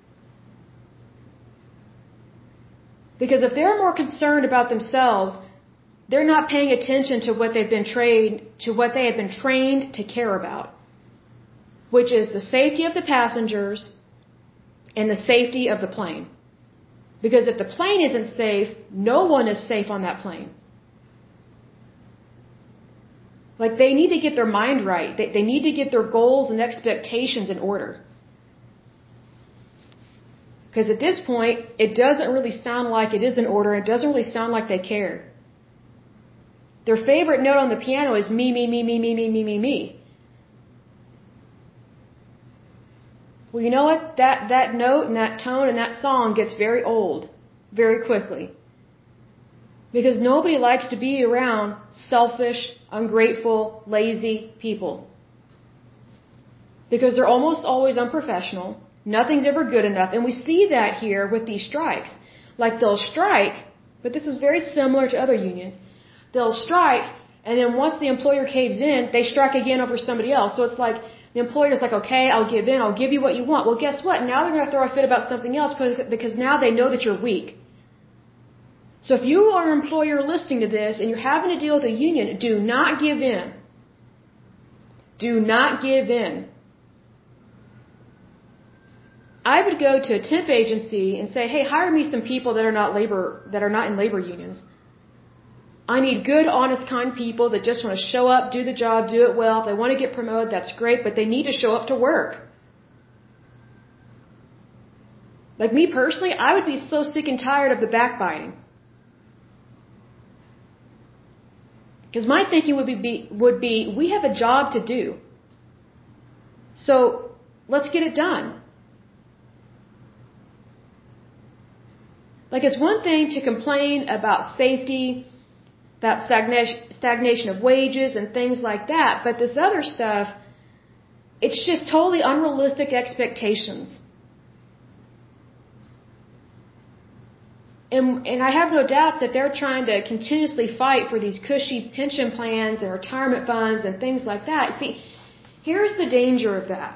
Because if they're more concerned about themselves, they're not paying attention to what they have been trained to care about, which is the safety of the passengers and the safety of the plane. Because if the plane isn't safe, no one is safe on that plane. Like, they need to get their mind right. They need to get their goals and expectations in order. Because at this point, it doesn't really sound like it is in order. It doesn't really sound like they care. Their favorite note on the piano is me, me, me, me, me, me, me, me, me. Well, you know what? That note and that tone and that song gets very old very quickly. Because nobody likes to be around selfish, ungrateful, lazy people. Because they're almost always unprofessional. Nothing's ever good enough. And we see that here with these strikes. Like, they'll strike, but this is very similar to other unions. They'll strike, and then once the employer caves in, they strike again over somebody else. So it's like, the employer's like, okay, I'll give in, I'll give you what you want. Well, guess what? Now they're going to throw a fit about something else because now they know that you're weak. So if you are an employer listening to this and you're having to deal with a union, do not give in. Do not give in. I would go to a temp agency and say, hey, hire me some people that are not in labor unions. I need good, honest, kind people that just want to show up, do the job, do it well. If they want to get promoted, that's great, but they need to show up to work. Like, me personally, I would be so sick and tired of the backbiting. Because my thinking would be, we have a job to do. So, let's get it done. Like, it's one thing to complain about safety, about stagnation of wages and things like that, but this other stuff, it's just totally unrealistic expectations. And I have no doubt that they're trying to continuously fight for these cushy pension plans and retirement funds and things like that. See, here's the danger of that.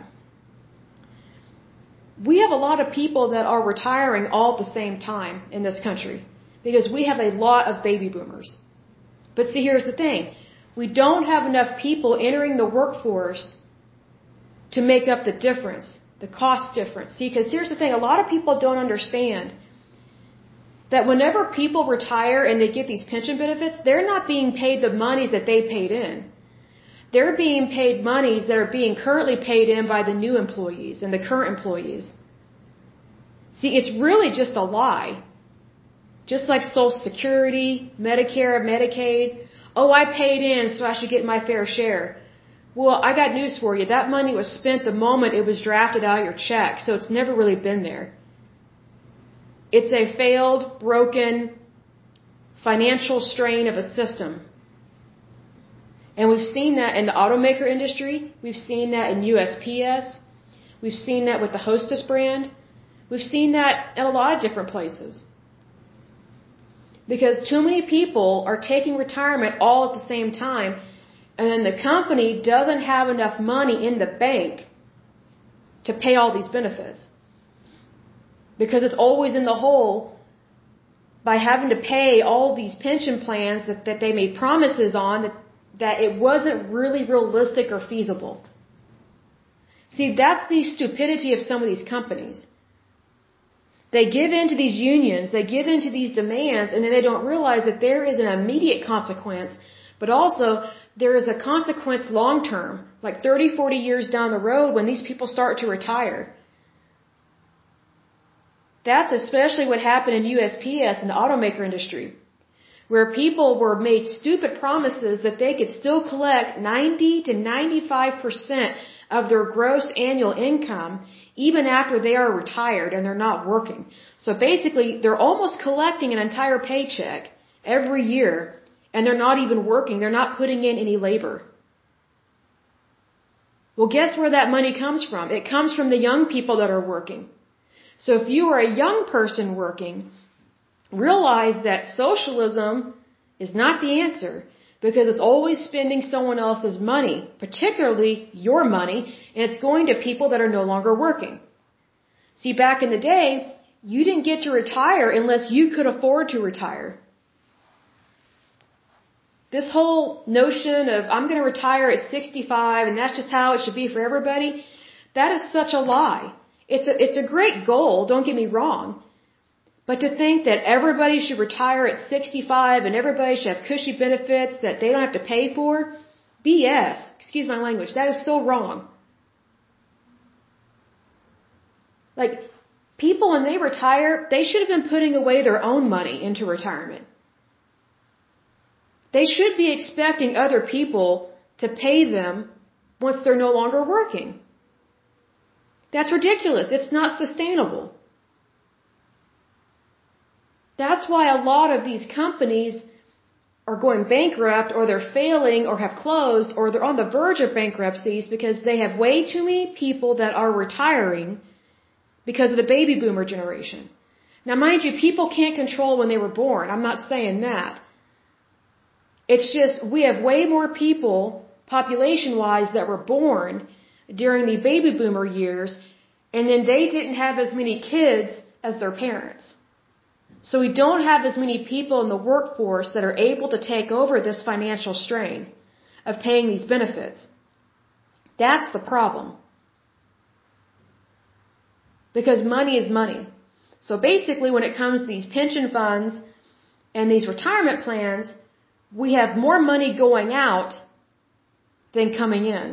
We have a lot of people that are retiring all at the same time in this country because we have a lot of baby boomers. But see, here's the thing. We don't have enough people entering the workforce to make up the difference, the cost difference. See, because here's the thing. A lot of people don't understand that whenever people retire and they get these pension benefits, they're not being paid the monies that they paid in. They're being paid monies that are being currently paid in by the new employees and the current employees. See, it's really just a lie. Just like Social Security, Medicare, Medicaid. Oh, I paid in, so I should get my fair share. Well, I got news for you. That money was spent the moment it was drafted out of your check, so it's never really been there. It's a failed, broken, financial strain of a system. And we've seen that in the automaker industry. We've seen that in USPS. We've seen that with the Hostess brand. We've seen that in a lot of different places. Because too many people are taking retirement all at the same time, and then the company doesn't have enough money in the bank to pay all these benefits. Because it's always in the hole by having to pay all these pension plans that they made promises on that it wasn't really realistic or feasible. See, that's the stupidity of some of these companies. They give in to these unions, they give in to these demands, and then they don't realize that there is an immediate consequence, but also there is a consequence long term, like 30, 40 years down the road when these people start to retire. That's especially what happened in USPS in the automaker industry, where people were made stupid promises that they could still collect 90 to 95% of their gross annual income even after they are retired and they're not working. So basically, they're almost collecting an entire paycheck every year, and they're not even working. They're not putting in any labor. Well, guess where that money comes from? It comes from the young people that are working. So if you are a young person working, realize that socialism is not the answer, because it's always spending someone else's money, particularly your money, and it's going to people that are no longer working. See, back in the day, you didn't get to retire unless you could afford to retire. This whole notion of I'm going to retire at 65 and that's just how it should be for everybody, that is such a lie. It's a great goal, don't get me wrong. But to think that everybody should retire at 65 and everybody should have cushy benefits that they don't have to pay for, BS, excuse my language, that is so wrong. Like, people when they retire, they should have been putting away their own money into retirement. They should be expecting other people to pay them once they're no longer working. That's ridiculous. It's not sustainable. That's why a lot of these companies are going bankrupt or they're failing or have closed or they're on the verge of bankruptcies because they have way too many people that are retiring because of the baby boomer generation. Now, mind you, people can't control when they were born. I'm not saying that. It's just we have way more people, population-wise, that were born during the baby boomer years, and then they didn't have as many kids as their parents. So we don't have as many people in the workforce that are able to take over this financial strain of paying these benefits. That's the problem. Because money is money. So basically when it comes to these pension funds and these retirement plans, we have more money going out than coming in.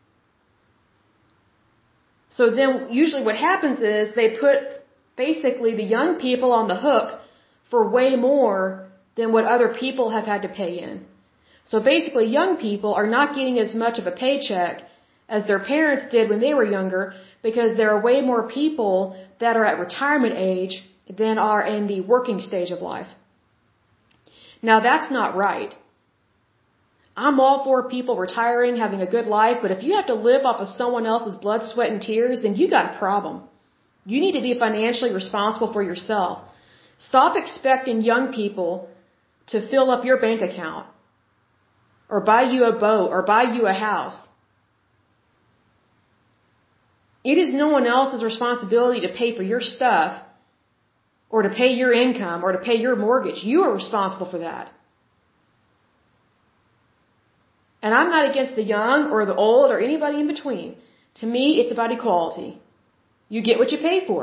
So then usually what happens is they put basically the young people on the hook for way more than what other people have had to pay in. So basically young people are not getting as much of a paycheck as their parents did when they were younger because there are way more people that are at retirement age than are in the working stage of life. Now that's not right. I'm all for people retiring, having a good life, but if you have to live off of someone else's blood, sweat, and tears, then you got a problem. You need to be financially responsible for yourself. Stop expecting young people to fill up your bank account or buy you a boat or buy you a house. It is no one else's responsibility to pay for your stuff or to pay your income or to pay your mortgage. You are responsible for that. And I'm not against the young or the old or anybody in between. To me, it's about equality. You get what you pay for.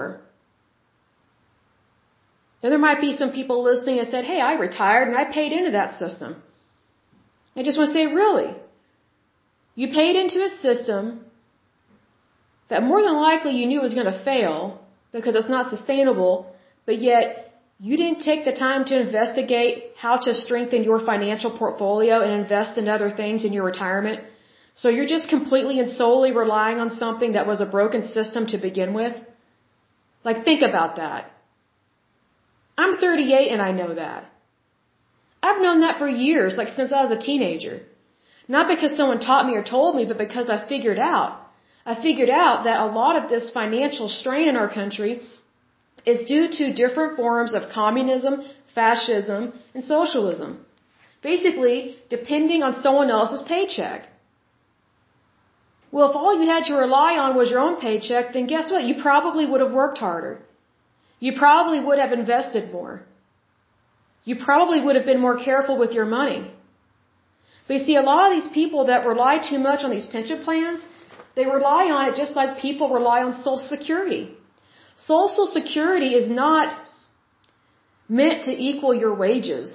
Now, there might be some people listening that said, hey, I retired and I paid into that system. I just want to say, really? You paid into a system that more than likely you knew was going to fail because it's not sustainable, but yet you didn't take the time to investigate how to strengthen your financial portfolio and invest in other things in your retirement. So you're just completely and solely relying on something that was a broken system to begin with? Like, think about that. I'm 38 and I know that. I've known that for years, like since I was a teenager. Not because someone taught me or told me, but because I figured out. I figured out that a lot of this financial strain in our country is due to different forms of communism, fascism, and socialism. Basically, depending on someone else's paycheck. Well, if all you had to rely on was your own paycheck, then guess what? You probably would have worked harder. You probably would have invested more. You probably would have been more careful with your money. But you see, a lot of these people that rely too much on these pension plans, they rely on it just like people rely on Social Security. Social Security is not meant to equal your wages.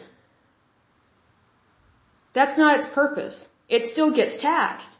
That's not its purpose. It still gets taxed.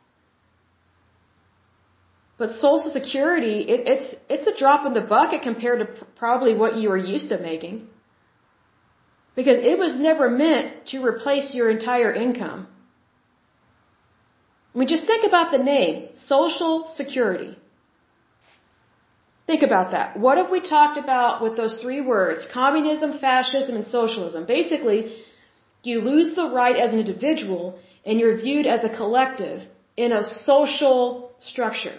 But Social Security, it's a drop in the bucket compared to probably what you were used to making. Because it was never meant to replace your entire income. I mean, just think about the name, Social Security. Think about that. What have we talked about with those three words? Communism, fascism, and socialism. Basically, you lose the right as an individual and you're viewed as a collective in a social structure.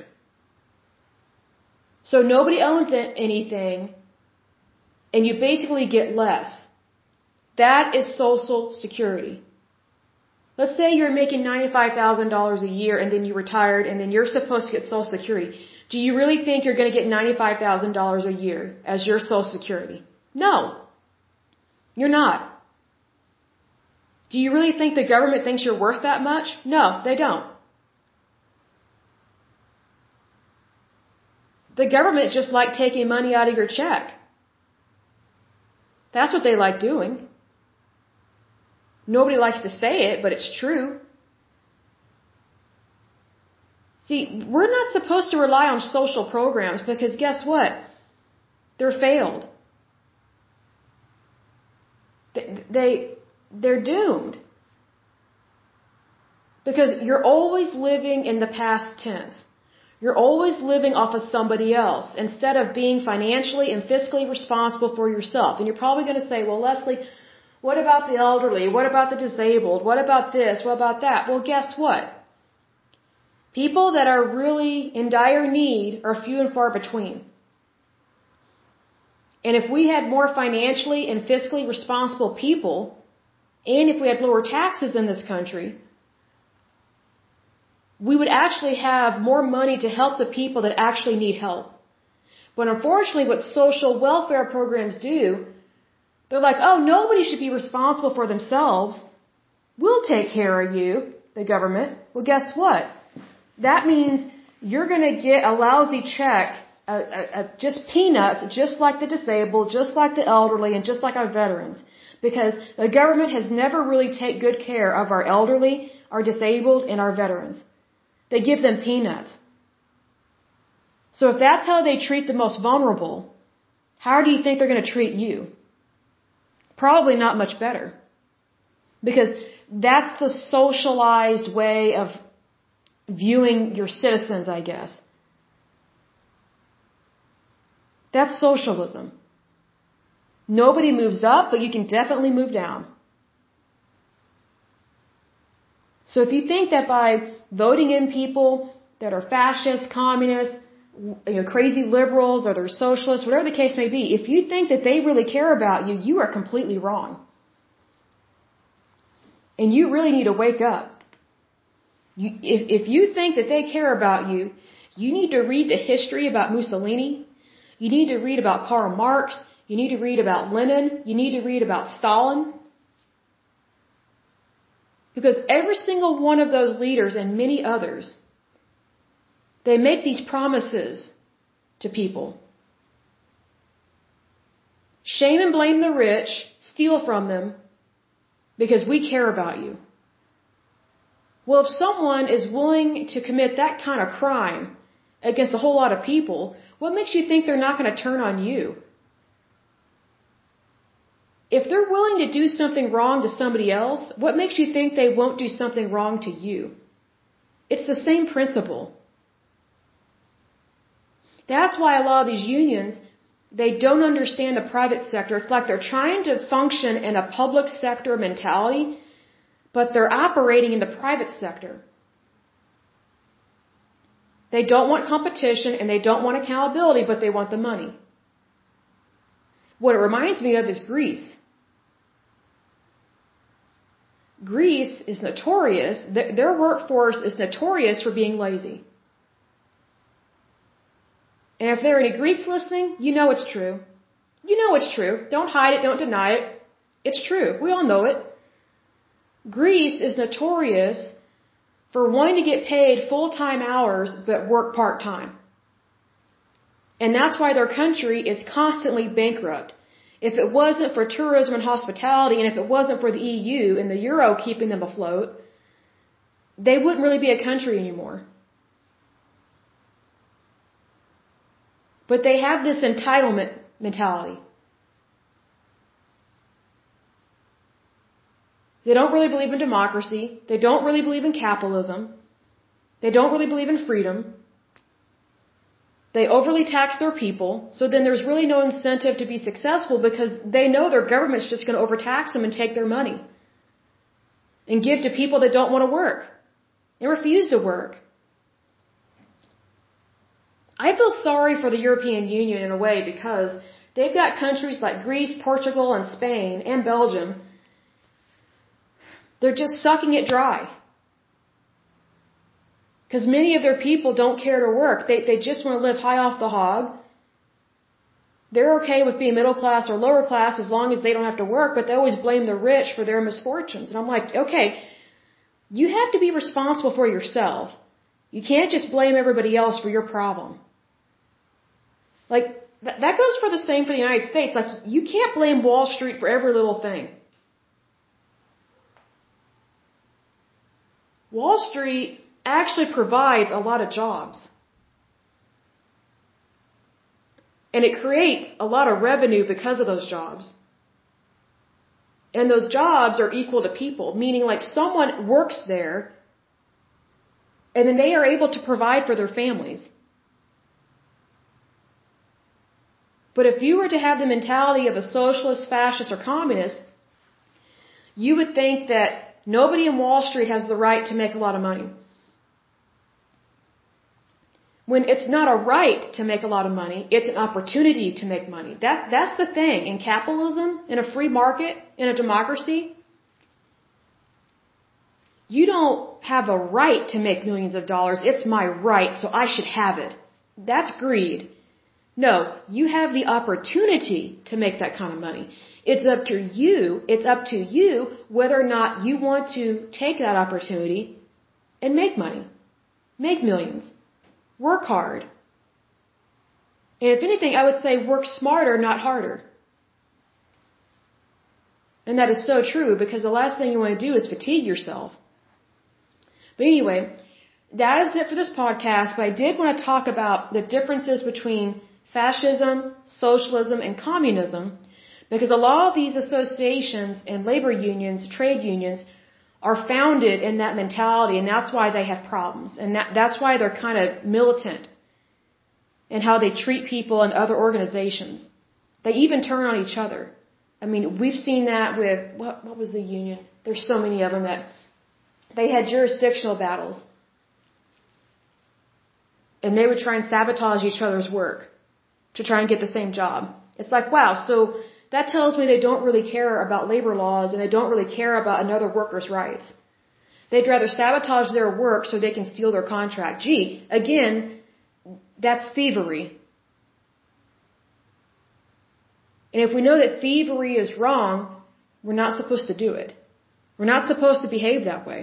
So nobody owns anything and you basically get less. That is Social Security. Let's say you're making $95,000 a year and then you retired and then you're supposed to get Social Security. Do you really think you're going to get $95,000 a year as your Social Security? No. You're not. Do you really think the government thinks you're worth that much? No, they don't. The government just like taking money out of your check. That's what they like doing. Nobody likes to say it, but it's true. See, we're not supposed to rely on social programs because guess what? They're failed. They're doomed. Because you're always living in the past tense. You're always living off of somebody else instead of being financially and fiscally responsible for yourself. And you're probably going to say, well, Leslie, what about the elderly? What about the disabled? What about this? What about that? Well, guess what? People that are really in dire need are few and far between. And if we had more financially and fiscally responsible people, and if we had lower taxes in this country, we would actually have more money to help the people that actually need help. But unfortunately, what social welfare programs do, they're like, oh, nobody should be responsible for themselves. We'll take care of you, the government. Well, guess what? That means you're going to get a lousy check, just peanuts, just like the disabled, just like the elderly, and just like our veterans. Because the government has never really taken good care of our elderly, our disabled, and our veterans. They give them peanuts. So if that's how they treat the most vulnerable, how do you think they're going to treat you? Probably not much better. Because that's the socialized way of viewing your citizens, I guess. That's socialism. Nobody moves up, but you can definitely move down. So if you think that by voting in people that are fascists, communists, crazy liberals, or they're socialists, whatever the case may be, if you think that they really care about you, you are completely wrong. And you really need to wake up. If you think that they care about you, you need to read the history about Mussolini. You need to read about Karl Marx. You need to read about Lenin. You need to read about Stalin. Because every single one of those leaders and many others, they make these promises to people. Shame and blame the rich, steal from them, because we care about you. Well, if someone is willing to commit that kind of crime against a whole lot of people, what makes you think they're not going to turn on you? If they're willing to do something wrong to somebody else, what makes you think they won't do something wrong to you? It's the same principle. That's why a lot of these unions, they don't understand the private sector. It's like they're trying to function in a public sector mentality, but they're operating in the private sector. They don't want competition and they don't want accountability, but they want the money. What it reminds me of is Greece. Greece is notorious, their workforce is notorious for being lazy. And if there are any Greeks listening, you know it's true. You know it's true. Don't hide it, don't deny it. It's true. We all know it. Greece is notorious for wanting to get paid full-time hours but work part-time. And that's why their country is constantly bankrupt. If it wasn't for tourism and hospitality, and if it wasn't for the EU and the Euro keeping them afloat, they wouldn't really be a country anymore. But they have this entitlement mentality. They don't really believe in democracy. They don't really believe in capitalism. They don't really believe in freedom. They overly tax their people, so then there's really no incentive to be successful because they know their government's just going to overtax them and take their money and give to people that don't want to work and refuse to work. I feel sorry for the European Union in a way because they've got countries like Greece, Portugal, and Spain, and Belgium They're just sucking it dry. Because many of their people don't care to work. They just want to live high off the hog. They're okay with being middle class or lower class as long as they don't have to work, but they always blame the rich for their misfortunes. And I'm like, okay, you have to be responsible for yourself. You can't just blame everybody else for your problem. Like, that goes for the same for the United States. Like, you can't blame Wall Street for every little thing. Wall Street actually provides a lot of jobs. And it creates a lot of revenue because of those jobs. And those jobs are equal to people, meaning like someone works there and then they are able to provide for their families. But if you were to have the mentality of a socialist, fascist, or communist, you would think that nobody in Wall Street has the right to make a lot of money. When it's not a right to make a lot of money, it's an opportunity to make money. That's the thing. In capitalism, in a free market, in a democracy, you don't have a right to make millions of dollars. It's my right, so I should have it. That's greed. No, you have the opportunity to make that kind of money. It's up to you whether or not you want to take that opportunity and make money. Make millions. Work hard. And if anything, I would say work smarter, not harder. And that is so true because the last thing you want to do is fatigue yourself. But anyway, that is it for this podcast. But I did want to talk about the differences between fascism, socialism, and communism, because a lot of these associations and labor unions, trade unions, are founded in that mentality, and that's why they have problems. And that's why they're kind of militant in how they treat people and other organizations. They even turn on each other. I mean, we've seen that with, what was the union? There's so many of them that they had jurisdictional battles. And they would try and sabotage each other's work to try and get the same job. It's like, wow, so that tells me they don't really care about labor laws and they don't really care about another worker's rights. They'd rather sabotage their work so they can steal their contract. Gee, again, that's thievery. And if we know that thievery is wrong, we're not supposed to do it. We're not supposed to behave that way.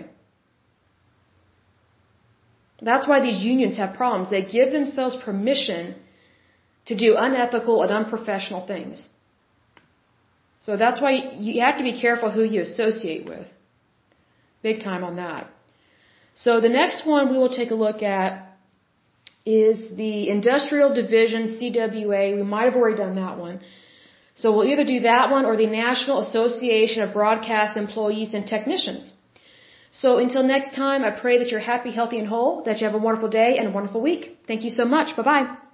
That's why these unions have problems. They give themselves permission to do unethical and unprofessional things. So that's why you have to be careful who you associate with. Big time on that. So the next one we will take a look at is the Industrial Division, CWA. We might have already done that one. So we'll either do that one or the National Association of Broadcast Employees and Technicians. So until next time, I pray that you're happy, healthy, and whole, that you have a wonderful day and a wonderful week. Thank you so much. Bye-bye.